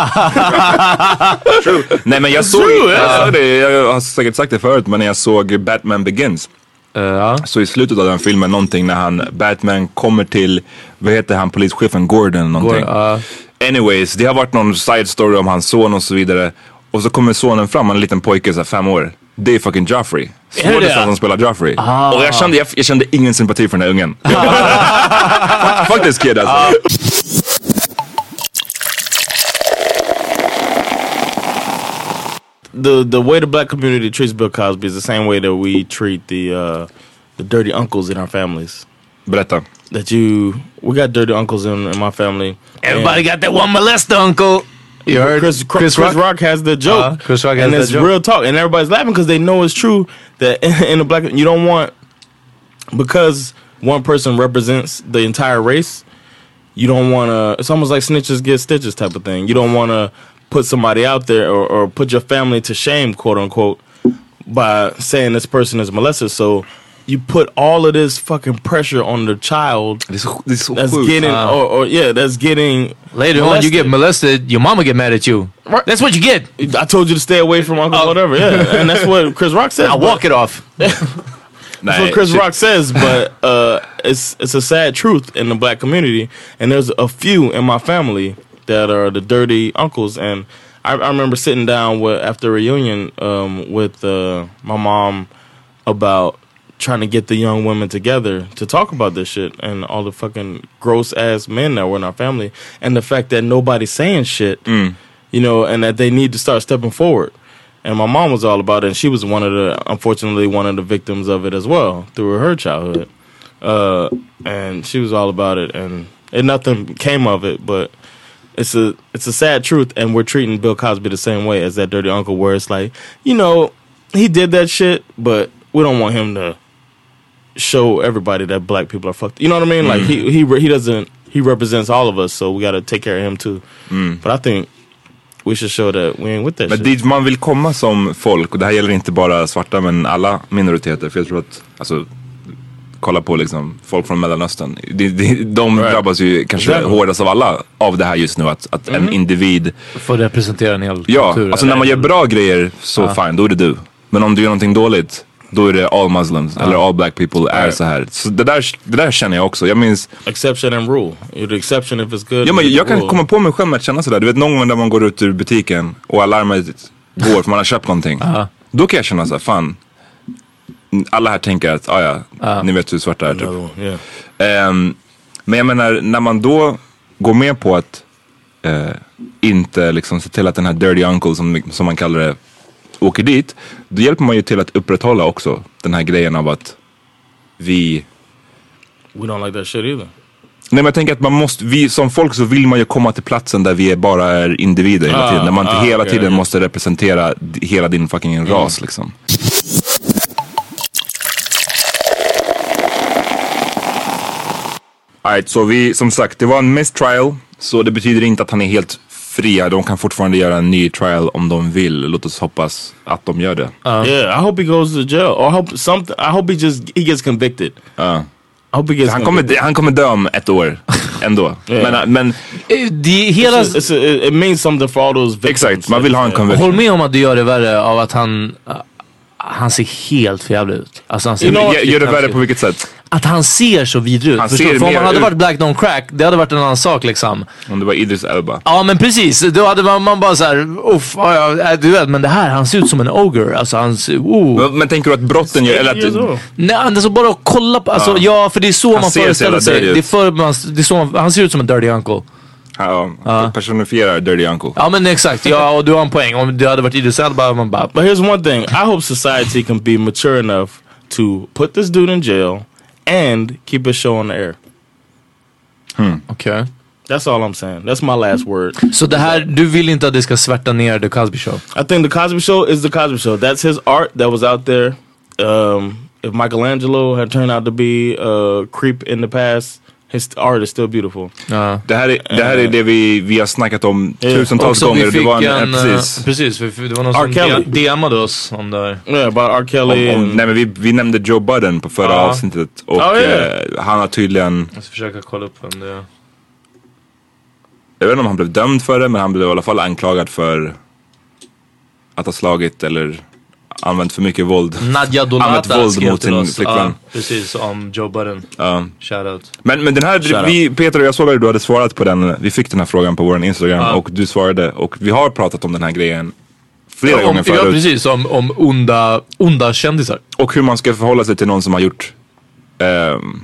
True. Nej men jag såg, True, jag, såg det, jag har säkert sagt det förut, men när jag såg Batman Begins uh. så i slutet av den filmen någonting när han, Batman kommer till, vad heter han, polischefen Gordon någonting. Gordon, uh. Anyways, det har varit någon side story om hans son och så vidare. Och så kommer sonen fram, en liten pojke så fem år. Det är fucking Joffrey. Skådespelaren som spelar Joffrey. Ah. Och jag kände, jag, jag kände ingen sympati för den här ungen. Fuck this kid alltså. Ah. The the way the black community treats Bill Cosby is the same way that we treat the uh, the dirty uncles in our families. Berätta. That you, we got dirty uncles in, in my family. Everybody got that one molester uncle. You heard Chris, Chris, Chris, Rock? Chris Rock has the joke, uh, Chris Rock has and it's joke. real talk, and everybody's laughing because they know it's true. That in, in the black, you don't want, because one person represents the entire race. You don't want to. It's almost like snitches get stitches type of thing. You don't want to put somebody out there or, or put your family to shame, quote unquote, by saying this person is molested. So you put all of this fucking pressure on the child this, this that's getting, uh, or, or yeah, that's getting later molested. On. You get molested, your mama get mad at you. Right. That's what you get. I told you to stay away from Uncle, uh, whatever. Yeah, and that's what Chris Rock says. I'll walk it off. That's what Chris Rock says, but uh, it's it's a sad truth in the black community, and there's a few in my family that are the dirty uncles, and I, I remember sitting down with after a reunion um, with uh, my mom about trying to get the young women together to talk about this shit and all the fucking gross ass men that were in our family, and the fact that nobody's saying shit, mm. you know, and that they need to start stepping forward. And my mom was all about it, and she was one of the, unfortunately, one of the victims of it as well through her childhood. Uh, and she was all about it, and, and nothing came of it. But it's a it's a sad truth, and we're treating Bill Cosby the same way as that dirty uncle, where it's like, you know, he did that shit, but we don't want him to show everybody that black people are fucked. You know what I mean? Mm. Like he he he doesn't he represents all of us, so we got to take care of him too. Mm. But I think we should show that we ain't with that. Men shit. dit man vill komma som folk, och det här gäller inte bara svarta men alla minoriteter, för jag tror att alltså kolla på liksom folk från Mellanöstern, de, de, de right. drabbas ju kanske exactly. hårdast av alla av det här just nu, att, att mm. en individ får representera en hel ja, kultur. Alltså när man gör bra grejer så ah. fine, då är det du. Men om du gör någonting dåligt, då är det all Muslims ah. eller all black people right. är så här. Så det där, det där känner jag också. Jag minns exception and rule. You're the exception if it's good. Ja, men jag kan rule. komma på mig själv med att känna sådär. Du vet någon gång när man går ut ur butiken och alarmet går för man har köpt någonting. Ah. Då kan jag känna såhär, fan, alla här tänker att ah, ja, ah. ni vet hur svarta är typ. Yeah. Um, men jag menar, när man då går med på att uh, inte liksom se till att den här dirty uncle som, som man kallar det åker dit, då hjälper man ju till att upprätthålla också den här grejen av att vi we don't like that shit either. Nej, men jag tänker att man måste, vi som folk så vill man ju komma till platsen där vi är bara är individer hela tiden, ah, när man inte ah, hela okay, tiden okay. måste representera hela din fucking mm. ras liksom. Alright, så vi, som sagt, det var en mistrial, så det betyder inte att han är helt fria. De kan fortfarande göra en ny trial om de vill. Låt oss hoppas att de gör det. Uh, yeah, I hope he goes to jail. Or I hope something. I hope he just he gets convicted. Uh. I hope he gets han kommer han kommer dö om ett år ändå. Yeah. Men men det hela it's a, it's a, it means something for all those victims. Exakt. Man vill ha en conviction. Håll med om att det gör det värre av att han han ser helt förjävlig ut. Alltså han ser you know, gör det värre på vilket sätt? Att han ser så vidrig ut. Förstår, för om han hade ut. varit Black Don't Crack, det hade varit en annan sak liksom. Om det var Idris Elba. Ja, men precis. Då hade man, man bara såhär, uff, ja, du vet, men det här, han ser ut som en ogre. Alltså han ser, oh. Men, men tänker du att brotten gör, eller att... Nej, alltså bara att kolla på, alltså, ja. ja, för det är så han man föreställer sig. Det är för, man, det är så man, han ser ut som en dirty uncle. Ja, ja. Personifierar dirty uncle. Ja, men exakt. Ja, och du har en poäng. Om det hade varit Idris Elba, man bara... But here's one thing. I hope society can be mature enough to put this dude in jail and keep his show on the air. Hmm. Okay. That's all I'm saying. That's my last word. Så det här, du vill inte att det ska svärta ner The Cosby Show? I think The Cosby Show is The Cosby Show. That's his art that was out there. Um, if Michelangelo had turned out to be a creep in the past, his art is still beautiful. Ja. Det här är det, här är det vi, vi har snackat om yeah. tusentals gånger. Vi fick det var en, en, precis. precis, det var någon som D M'ade oss om det. Yeah, about R. Kelly. Om, om, nej, men vi, vi nämnde Joe Budden på förra ah. avsnittet. Och oh, yeah. eh, han har tydligen... Jag ska försöka kolla upp vem det är. Jag vet inte om han blev dömd för det, men han blev i alla fall anklagad för att ha slagit eller använt för mycket våld. Nadja Donata våld mot sin flickvän. Ja, precis, om Joe Budden. Ja. Shoutout. Men, men den här, vi, Peter och jag såg att du hade svarat på den. Vi fick den här frågan på vår Instagram ja. och du svarade. Och vi har pratat om den här grejen flera ja, om, gånger förut. Ja, precis. Om, om onda, onda kändisar. Och hur man ska förhålla sig till någon som har gjort um,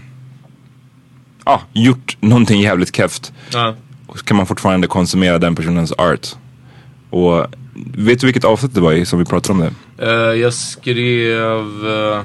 ah, gjort någonting jävligt keft. Ja. Och så kan man fortfarande konsumera den personens art. Och vet du vilket avsnitt det var i som vi pratade om det? Uh, jag skrev uh,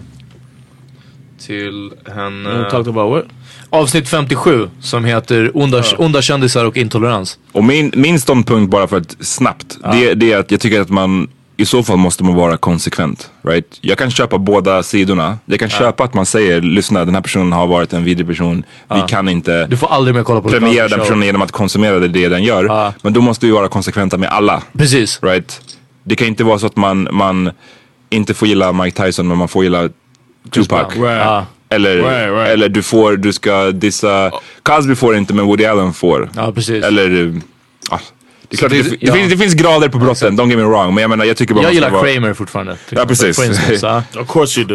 till henne... You talked about what? Avsnitt femtiosju som heter onda, uh. onda kändisar och intolerans. Och min, min ståndpunkt bara för att snabbt, uh. det, det är att jag tycker att man i så fall måste man vara konsekvent, right? Jag kan köpa båda sidorna. Jag kan uh. köpa att man säger, lyssna, den här personen har varit en vidrig person. Uh. Vi kan inte du får aldrig mer kolla på premiera den personen genom att konsumera det, det den gör. Uh. Men då måste vi vara konsekventa med alla. Precis. Right? Det kan inte vara så att man, man inte får gilla Mike Tyson men man får gilla Tupac. Right. Uh. Eller, right, right. eller du får, du ska dissa Cosby får inte men Woody Allen får. Ja, precis. Eller ah, det, är klart, det, det, ja. det, finns, det finns grader på brotten, don't get me wrong. Men jag menar, jag tycker bara jag gillar vara... Kramer fortfarande. Ja, precis. Of course you do.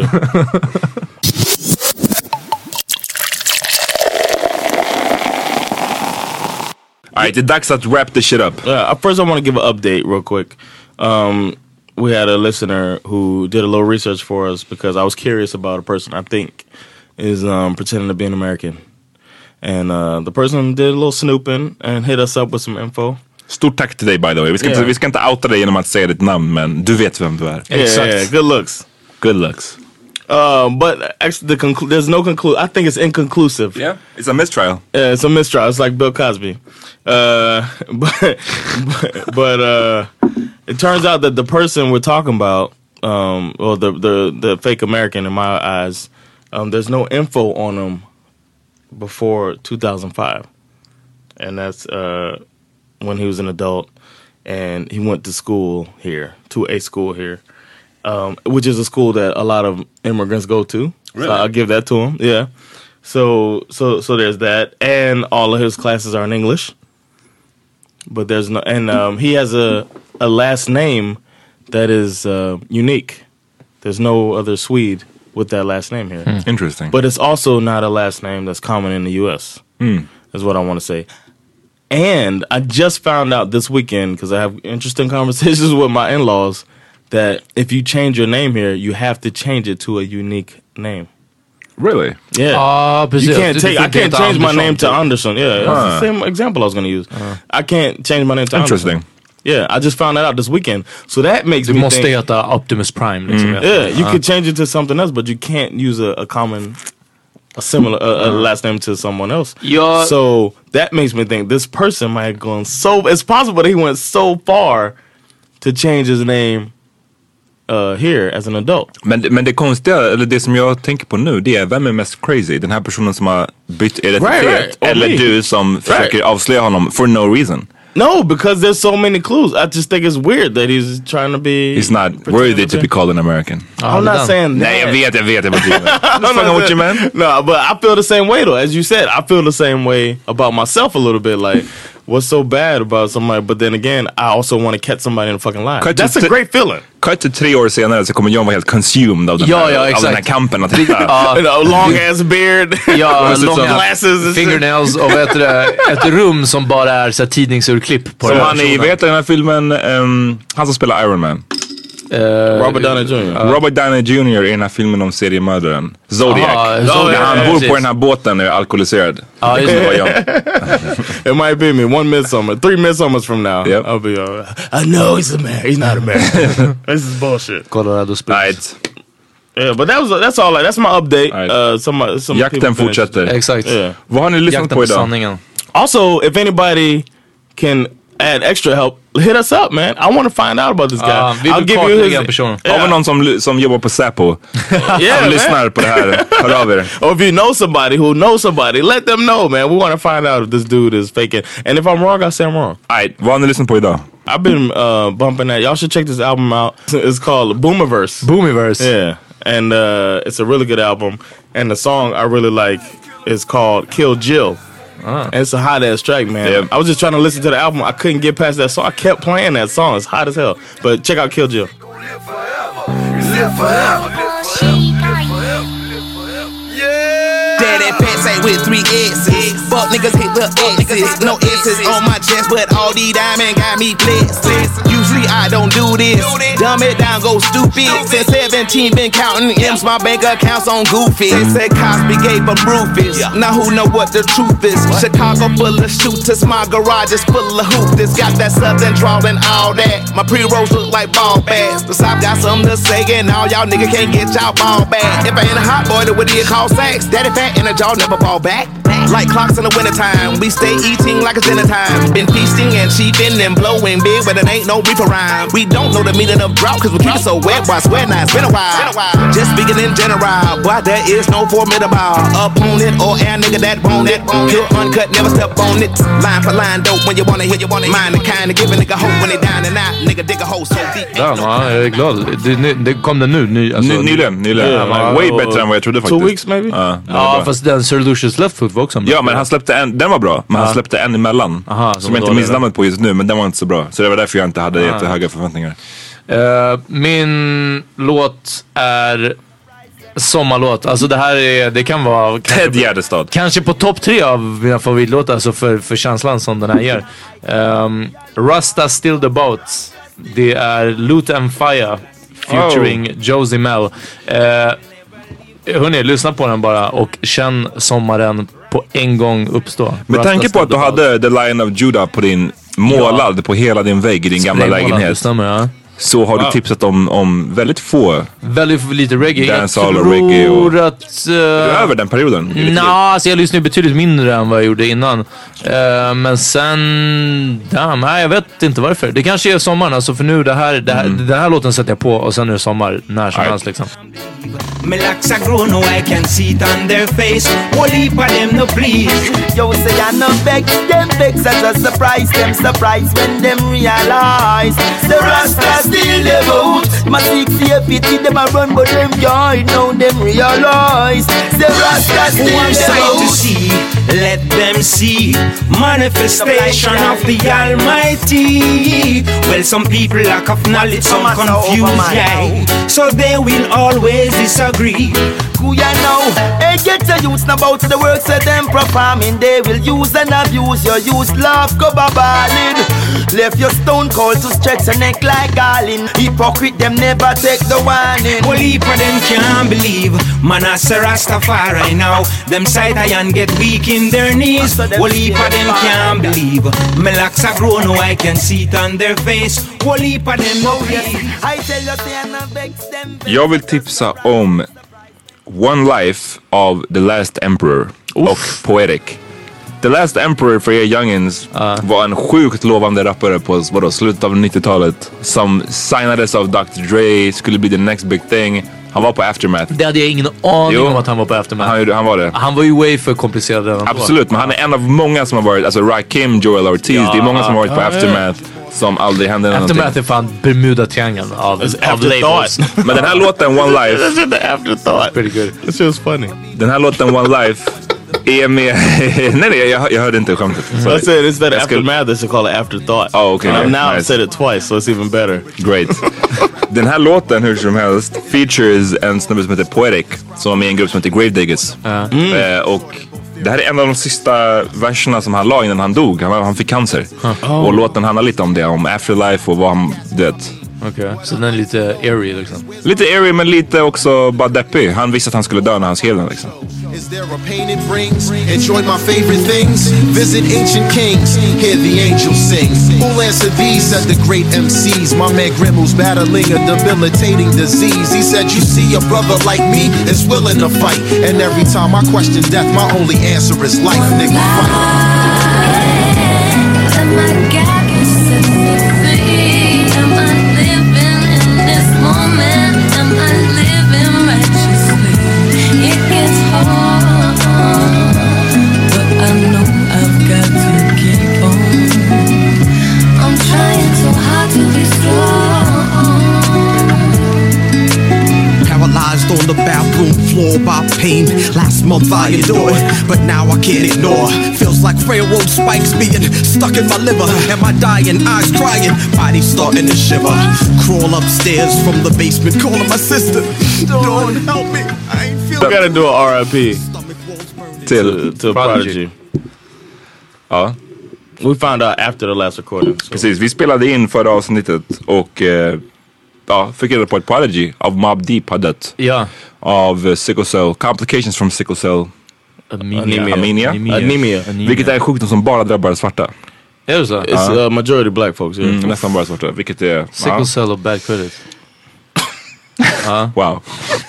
Alright, det är dags att wrap this shit up. Yeah, first I want to give an update real quick. Um, we had a listener who did a little research for us because I was curious about a person I think is um, pretending to be an American. And uh, the person did a little snooping and hit us up with some info. Stort tack till dig by the way. Vi ska, yeah. inte, vi ska inte outa dig genom att säga ditt namn, men du vet vem du är. Yeah, exactly. yeah, good looks. Good looks. Uh, but actually, the conclu- there's no conclusion. I think it's inconclusive. Yeah, it's a mistrial. Yeah, it's a mistrial. It's like Bill Cosby. Uh, but but, but uh, it turns out that the person we're talking about, um, or the the the fake American in my eyes, Um, there's no info on him before two thousand five, and that's uh, when he was an adult, and he went to school here, to a school here, um, which is a school that a lot of immigrants go to. Really? So I'll give that to him. Yeah. So so so there's that, and all of his classes are in English. But there's no, and um, he has a a last name that is uh, unique. There's no other Swede with that last name here. Mm. Interesting. But it's also not a last name that's common in the U S. Mm. Is what I want to say. And I just found out this weekend, because I have interesting conversations with my in-laws, that if you change your name here, you have to change it to a unique name. Really? Yeah. Ah, precis. You can't take. I can't change my name to typ. Anderson. Yeah, that's Ah. the same example I was going to use. Uh. I can't change my name to Interesting. Anderson. Yeah, I just found that out this weekend. So that makes Du me måste think. heta Optimus Prime. Liksom. Mm. Yeah, you uh. could change it to something else, but you can't use a, a common, a similar, a, a last name to someone else. Ja. So that makes me think this person might have gone so. It's possible that he went so far to change his name uh, here as an adult. Men, men det konstiga, eller det som jag tänker på nu, det är vem är mest crazy? Den här personen som har bytt identitet, Right, right. Or eller me. du som Right. försöker avslöja honom for no reason. No, because there's so many clues. I just think it's weird that he's trying to be. He's not worthy to be called an American. I'm not saying that. Nej, jag vet, jag vet, jag vet. I'm just fucking with you, man. No, but I feel the same way though. As you said, I feel the same way about myself a little bit. Like, what's so bad about somebody? But then again, I also want to catch somebody in a fucking lie. Cut That's to- a great feeling. Cut to tre år senare så kommer John vara helt consumed av den, Ja, här, ja, av exakt. den här kampen. Att hitta. You know, long ass beard. Ja, With some långa glasses and shit. fingernails och vet du, det, ett rum som bara är så här, tidningsurklipp på Som den här han i, personen. vet du den här filmen, um, han som spelar Iron Man. Eh, Robert Downey Junior Robert Downey Junior i den här filmen om seriemördaren Zodiac. Aha, När Zodiac, han ja, bor precis. på den här båten och är alkoholiserad. Ja, just Det det. var jag. It might be me. One midsummer, three midsummers from now. Yep. I'll be. Uh, I know he's a man. He's not a man. This is bullshit. Colorado Springs. Right. Yeah, but that was that's all. Like, that's my update. Right. Uh, some some Jakten people finished. fortsätter. Exakt. Yeah. Vad har ni lyssnat Jakten på på idag? sanningen. Also, if anybody can add extra help, hit us up, man. I want to find out about this guy. Ah, vi vill kartlägga en person. Har vi någon som, som jobbar på Säpo? Yeah, Som man. lyssnar på det här? Hör av er. Or if you know somebody who knows somebody, let them know, man. We want to find out if this dude is faking. And if I'm wrong, I say I'm wrong. Right. Vad har ni lyssnat på idag? I've been uh, bumping that. Y'all should check this album out. It's called Boomiverse. Boomiverse. Yeah. And uh, it's a really good album. And the song I really like is called Kill Jill. Ah. And it's a hot ass track, man. Yep. I was just trying to listen to the album. I couldn't get past that song. I kept playing that song. It's hot as hell. But check out Kill Jill. Daddy pants ain't with three S's. Fuck niggas hit the X's. No S's on my chest, but all these diamonds got me blessed. Usually I don't do this. Dumb it down, go stupid. Since seventeen, been counting M's, my bank accounts on Goofy. They said Cosby gave them Rufus. Now who know what the truth is? Chicago full of shooters, my garage is full of hoopers. Got that southern drawl and all that. My pre-rolls look like ball bags. The South got something to say, and all y'all niggas can't get y'all ball back. If I ain't a hot boy, then what do you call sex? Daddy fat and a jaw never fall back. Like clocks in the wintertime, we stay eating like it's dinner time. Been feasting and cheaping and blowing big, but it ain't no reefer rhyme. We don't know the meaning of drought, cause we keep it so wet, boy, I swear now it's been a while. Just speaking in general, boy, there is no formidable opponent or a nigga that want it. Pure uncut, never step on it. Line for line, dope when you wanna hit, you wanna mind the kind of give a nigga hope when they down and out. Nigga dig a hole so deep. Ja, man, jag är glad. Det, det kom den nu? Ny, alltså, Ny, nyligen, nyligen. Yeah, Ja, way bättre än vad jag trodde faktiskt. Two weeks maybe? Ja, den var Ja, bra. fast den Sir Lucius Left Foot var också bra. Ja, men han släppte en, den var bra, men han släppte en emellan. Aha, som jag inte minns namnet på just nu, men den var inte så bra. Så det var därför jag inte hade jättehöga förväntningar. Uh, min låt är sommarlåt. Alltså det här är, det kan vara Ted Gärdestad. kanske på topp tre av mina favoritlåtar, alltså för, för känslan som den här ger. Um, Rasta Still the Boat. Det är Loot and Fire featuring oh. Josie Mell. Uh, hörni, lyssna på den bara och känn sommaren på en gång uppstå. Med tanke på att du hade The Lion of Judah på din målad ja. på hela din vägg i din gamla läggelhet. Stämmer, ja. så har Wow. du tipsat om, om väldigt få. Väldigt lite reggae. Dancehall jag och reggae och- tror att... Uh, Är du över den perioden? Nej, alltså jag lyssnade betydligt mindre än vad jag gjorde innan. Uh, men sen... Damn, nej, jag vet inte varför. Det kanske är sommaren, alltså för nu det här, det här, Mm. den här låten sätter jag på och sen är det sommar när som Right. helst liksom. Me locks are grown, no I can see it on their face. Whole heap of them no please. Yo say I no vex, them vex as a surprise. Them surprise when them realize the Rasta still live out. My six year pity them a run but them joy. Now them realize the Rasta still live out. To see, let them see manifestation of the Almighty. Well, some people lack of knowledge, some confused, yeah. So they will always disagree. Who ya know? Hey, get the youths now about the works that them performing. They will use and abuse your use. Love go babalin. Left your stone cold to stretch your neck like garland. Hypocrite them never take the warning. Well, heap of them can't believe. Man, I say Rastafari now. Them side iron get weak in their knees. Well, heap of them can't believe. My locks are grown, no I can see it on their face. Well, heap of them no believe. I tell you, they are not vex them. Jag vill tipsa om One Life av The Last Emperor och Poetic. The Last Emperor för er youngins uh. var en sjukt lovande rappare på vadå, slutet av nittiotalet som signades av doktor Dre, skulle bli the next big thing. Han var på Aftermath. Det hade jag ingen aning Jo. om att han var på Aftermath. Han, han var det. Han var ju way för komplicerad än Absolut, men han är en av många som har varit, alltså Rakim, Joel Ortiz, Ja, det är många som har varit på ja, Aftermath som aldrig hände någonting. Aftermath är fan Bermuda-triangeln av, av labels. Men den här låten One Life, Afterthought. Pretty good. This was funny. den här låten One Life är med... nej nej, jag, jag hörde inte skämtet. So I said instead of Jag skulle- aftermath, they should call it afterthought. Oh, okay. And now I've Nice. said it twice, so it's even better. Great. Den här låten hur som helst features en snubbe som heter Poetic som var med i en grupp som heter Gravediggers. Eh, och det här är en av de sista verserna som han la innan han dog. Han, han fick cancer. Och låten handlar lite om det, om afterlife och vad han, du vet. Okej, så den är lite airy liksom. Lite airy men lite också bara deppig. Han visste att han skulle dö när han skrev den liksom. Is there a pain it brings? Enjoy my favorite things. Visit ancient kings. Hear the angels sing. Who'll answer these? Said the great M Cs. My man Grimmel's battling a debilitating disease. He said, you see, a brother like me is willing to fight. And every time I question death, my only answer is life, nigga, fight. Paralyzed on the bathroom floor by pain. Last month I endured, but now I can't ignore. Feels like railroad spikes being stuck in my liver. Am I dying? Eyes crying, body starting to shiver. Crawl upstairs from the basement, calling my sister. Dawn, help me, I ain't feeling. We gotta do an R I P Till, to Prodigy. Ja. We found out after the last recording. So. Precis, vi spelade in förra avsnittet och eh, ja, fick reda på att Prodigy av Mobb Deep hade dött. Ja. Av uh, sickle cell, complications from sickle cell Anemia. anemia. Anemia. Anemia. Anemia. Vilket är en sjukdom som bara drabbar svarta. Är det så? It's uh, majority black folks. Yeah. Mm, nästan bara svarta, vilket är... Sickle ja. cell och bad credit. Wow.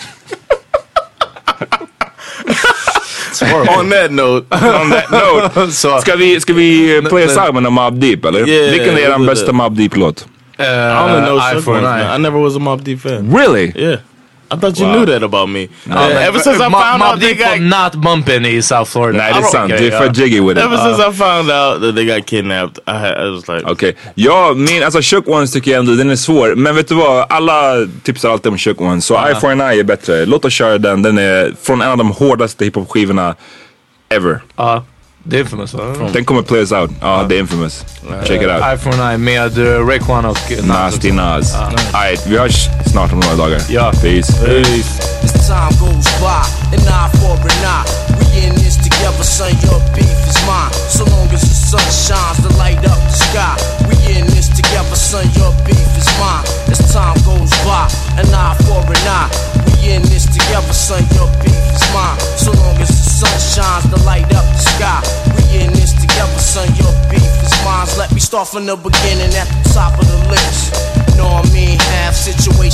On that note, On that note, Så, ska vi, ska vi play a song med Mobb Deep eller? Yeah, Vilken är we'll den do bästa that. Mobb Deep-låt? uh, I only know Eye Shook for an Ones, man. Eye. I never was a Mobb Deep fan. Really? Yeah. I thought you Wow. knew that about me. No, Uh, man. ever since I Mobb- found Mobb out they Deep got... var not bumping i South Florida. Nej, det är sant. Okay, Du är för ja. jiggy with it. Ever since I found out that they got kidnapped, I, had, I was like... Okej, ja, min, alltså Shook Ones tycker jag ändå, den är svår. Men vet du vad, alla tipsar alltid om Shook Ones. Så Eye for an Eye är bättre. Låt oss köra den, den är från en av de hårdaste hiphop-skivorna ever. Ja, det är infamous va? Den kommer play us out. Ja, det är infamous. Check it out. Eye for an Eye med uh, Raekwon och Nasty Nas. Alright, vi hörs snart om några dagar. Ja. Peace. Peace. As time goes by, an eye for an eye. We in this together, son, your beef is mine. So long as the sun shines to light up the sky. We in this together, son, your beef is mine. As time goes by, an eye for an eye. We in this together, son, your beef is mine. So long as the sun shines to light up the sky. We in this together, son, your beef is mine. Let me start from the beginning at the top of the list. Know what I mean?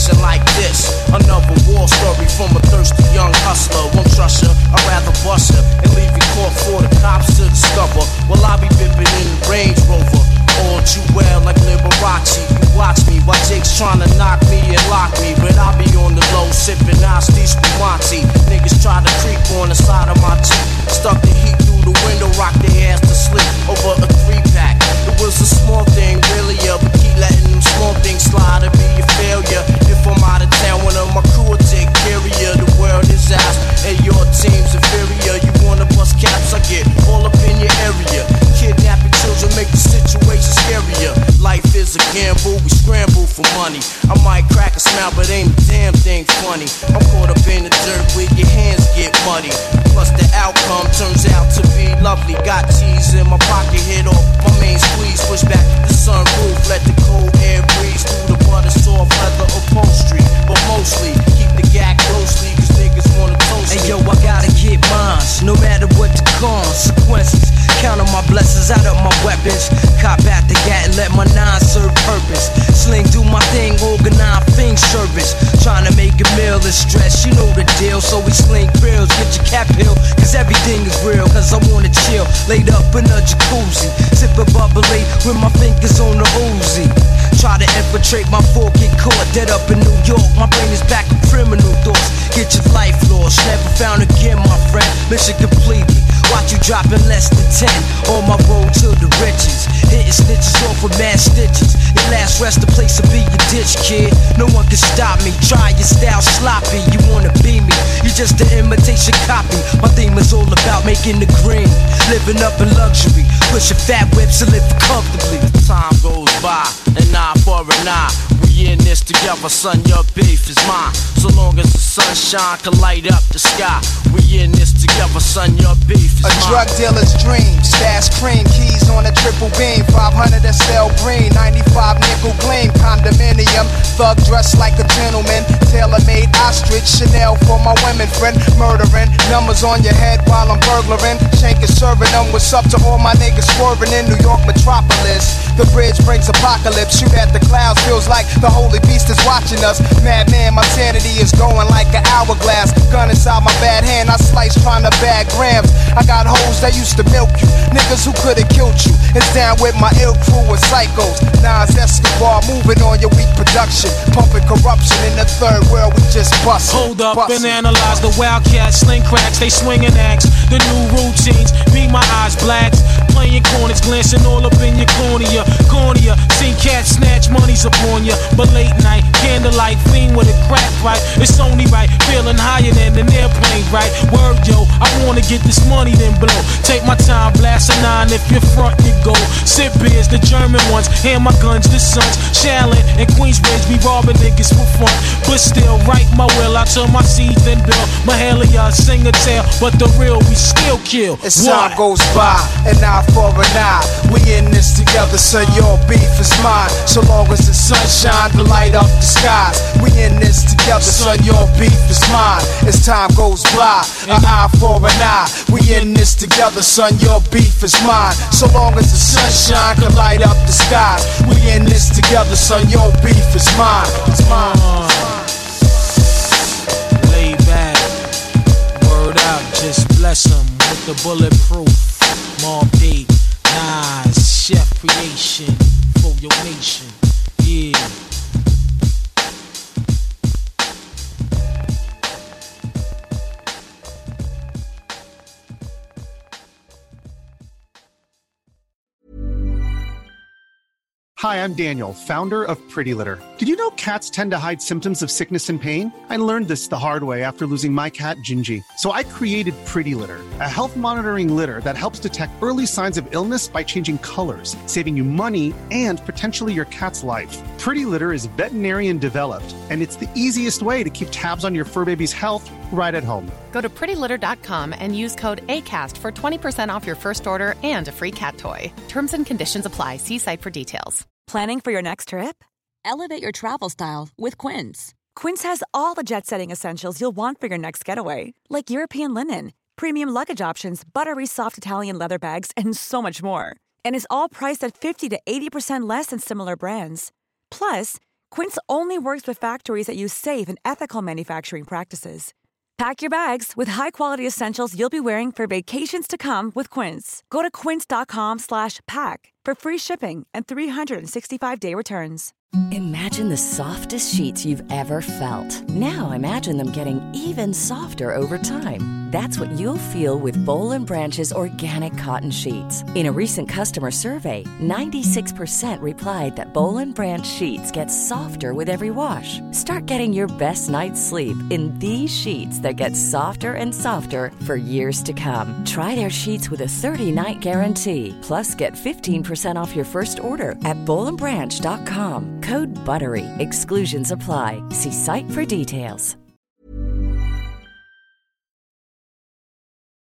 situation like this. Another war story from a thirsty young hustler. Won't trust ya, I'd rather bust ya and leave you caught for the cops to discover. Well, I'll be bipping in the Range Rover. All too well like Liberace. You watch me while Jake's trying to knock me and lock me, but I'll be on the low sipping nasty spumante. Niggas try to creep on the side of my Jeep. Stuck the heat through the window, rock their ass to sleep over a three pack. It was a small thing, really, yeah, but keep letting them small things slide and be a failure. If I'm out of town, one of my crew will take care of you. The world is ours and your team's inferior. You wanna bust caps, I get all up in your area. Kidnapping children make the situation scarier. Life is a gamble, we scramble for money. I might crack a smile, but ain't a damn thing funny. I'm caught up in the dirt where your hands get muddy. Plus the outcome turns out to be lovely. Got cheese in my pocket, hit off my main squeeze. Push back the sunroof, let the cold air breeze through the butter soft leather upholstery. But mostly, keep the gag closely, cause niggas wanna toast me. Hey yo, I gotta get mine, no matter what the consequences. Count on my blessings, out of my weapons. Cop out the gat and let my nine serve purpose. Sling do my thing, organize thing service. Trying to make a meal is stress, you know the deal. So we sling grills, get your cap hill, cause everything is real. Cause I wanna chill, laid up in a jacuzzi, sipping bubbly with my fingers on the Uzi. Try to infiltrate my four, get caught dead up in New York. My brain is back with criminal thoughts. Get your life lost, never found again, my friend. Mission completed. Watch you dropping less than ten on my road to the riches. Hitting snitches off with mad stitches. Your last rest, the place to be your ditch, kid. No one can stop me. Try your style sloppy. You wanna be me? You just an imitation copy. My theme is all about making the green, living up in luxury, pushing fat whips and living comfortably. Time goes by, an eye for an eye. We in this together, son, your beef is mine. So long as the sunshine can light up the sky. We in this together, son, your beef is a mine. A drug dealer's dream, stash cream, keys on a triple beam. Five hundred S L green, ninety-five nickel gleam. Condominium, thug dressed like a gentleman. Tailor-made ostrich, Chanel for my women friend. Murdering, numbers on your head while I'm burglaring. Shank is serving them, what's up to all my niggas swerving in New York metropolis. The bridge brings apocalypse, shoot at the clouds, feels like the holy beast is watching us. Madman, my sanity is going like an hourglass. Gun inside my bad hand, I slice trying to bag grams. I got hoes that used to milk you, niggas who could've killed you. It's down with my ill crew of psychos. Nas Escobar moving on your weak production, pumping corruption in the third world. We just bust. Hold up bustin'. and analyze the wildcats, sling cracks, they swinging axe. The new routines, be my eyes blacks. Playing corners, glancing all up in your cornea. Cornea, seen cats snatch monies upon ya. But late night, candlelight, fiend with a crack right. It's only right, feeling higher than an airplane, right? Word yo, I wanna get this money then blow. Take my time, blast a nine if you're front you go. Sip beers, the German ones, hand my guns, the sons. Shaolin and Queensbridge, we robbing niggas for fun. But still, write my will, I turn my seeds and build. Mahalia, sing a tale, but the real we still kill. As time goes by, an eye for an eye. We in this together, son, your beef is mine. So long as the sunshine to light up the skies. We in this together, son, your beef is mine. As time goes by, an eye for an eye. We in this together, son, your beef is mine. So long as the sunshine can light up the skies. We in this together, son, your beef is mine. It's mine. Lay back, word out, just bless them with the bulletproof. Mob Deep, Nas, Chef Creation for your nation, yeah. Hi, I'm Daniel, founder of Pretty Litter. Did you know cats tend to hide symptoms of sickness and pain? I learned this the hard way after losing my cat, Gingy. So I created Pretty Litter, a health monitoring litter that helps detect early signs of illness by changing colors, saving you money and potentially your cat's life. Pretty Litter is veterinarian developed, and it's the easiest way to keep tabs on your fur baby's health right at home. Go to pretty litter dot com and use code ACAST for twenty percent off your first order and a free cat toy. Terms and conditions apply. See site for details. Planning for your next trip? Elevate your travel style with Quince. Quince has all the jet-setting essentials you'll want for your next getaway, like European linen, premium luggage options, buttery soft Italian leather bags, and so much more. And is all priced at fifty to eighty percent less than similar brands. Plus, Quince only works with factories that use safe and ethical manufacturing practices. Pack your bags with high-quality essentials you'll be wearing for vacations to come with Quince. Go to quince.com slash pack for free shipping and three sixty-five day returns. Imagine the softest sheets you've ever felt. Now imagine them getting even softer over time. That's what you'll feel with Boll and Branch's organic cotton sheets. In a recent customer survey, ninety-six percent replied that Boll and Branch sheets get softer with every wash. Start getting your best night's sleep in these sheets that get softer and softer for years to come. Try their sheets with a thirty-night guarantee. Plus, get fifteen percent off your first order at boll and branch dot com. Code BUTTERY. Exclusions apply. See site for details.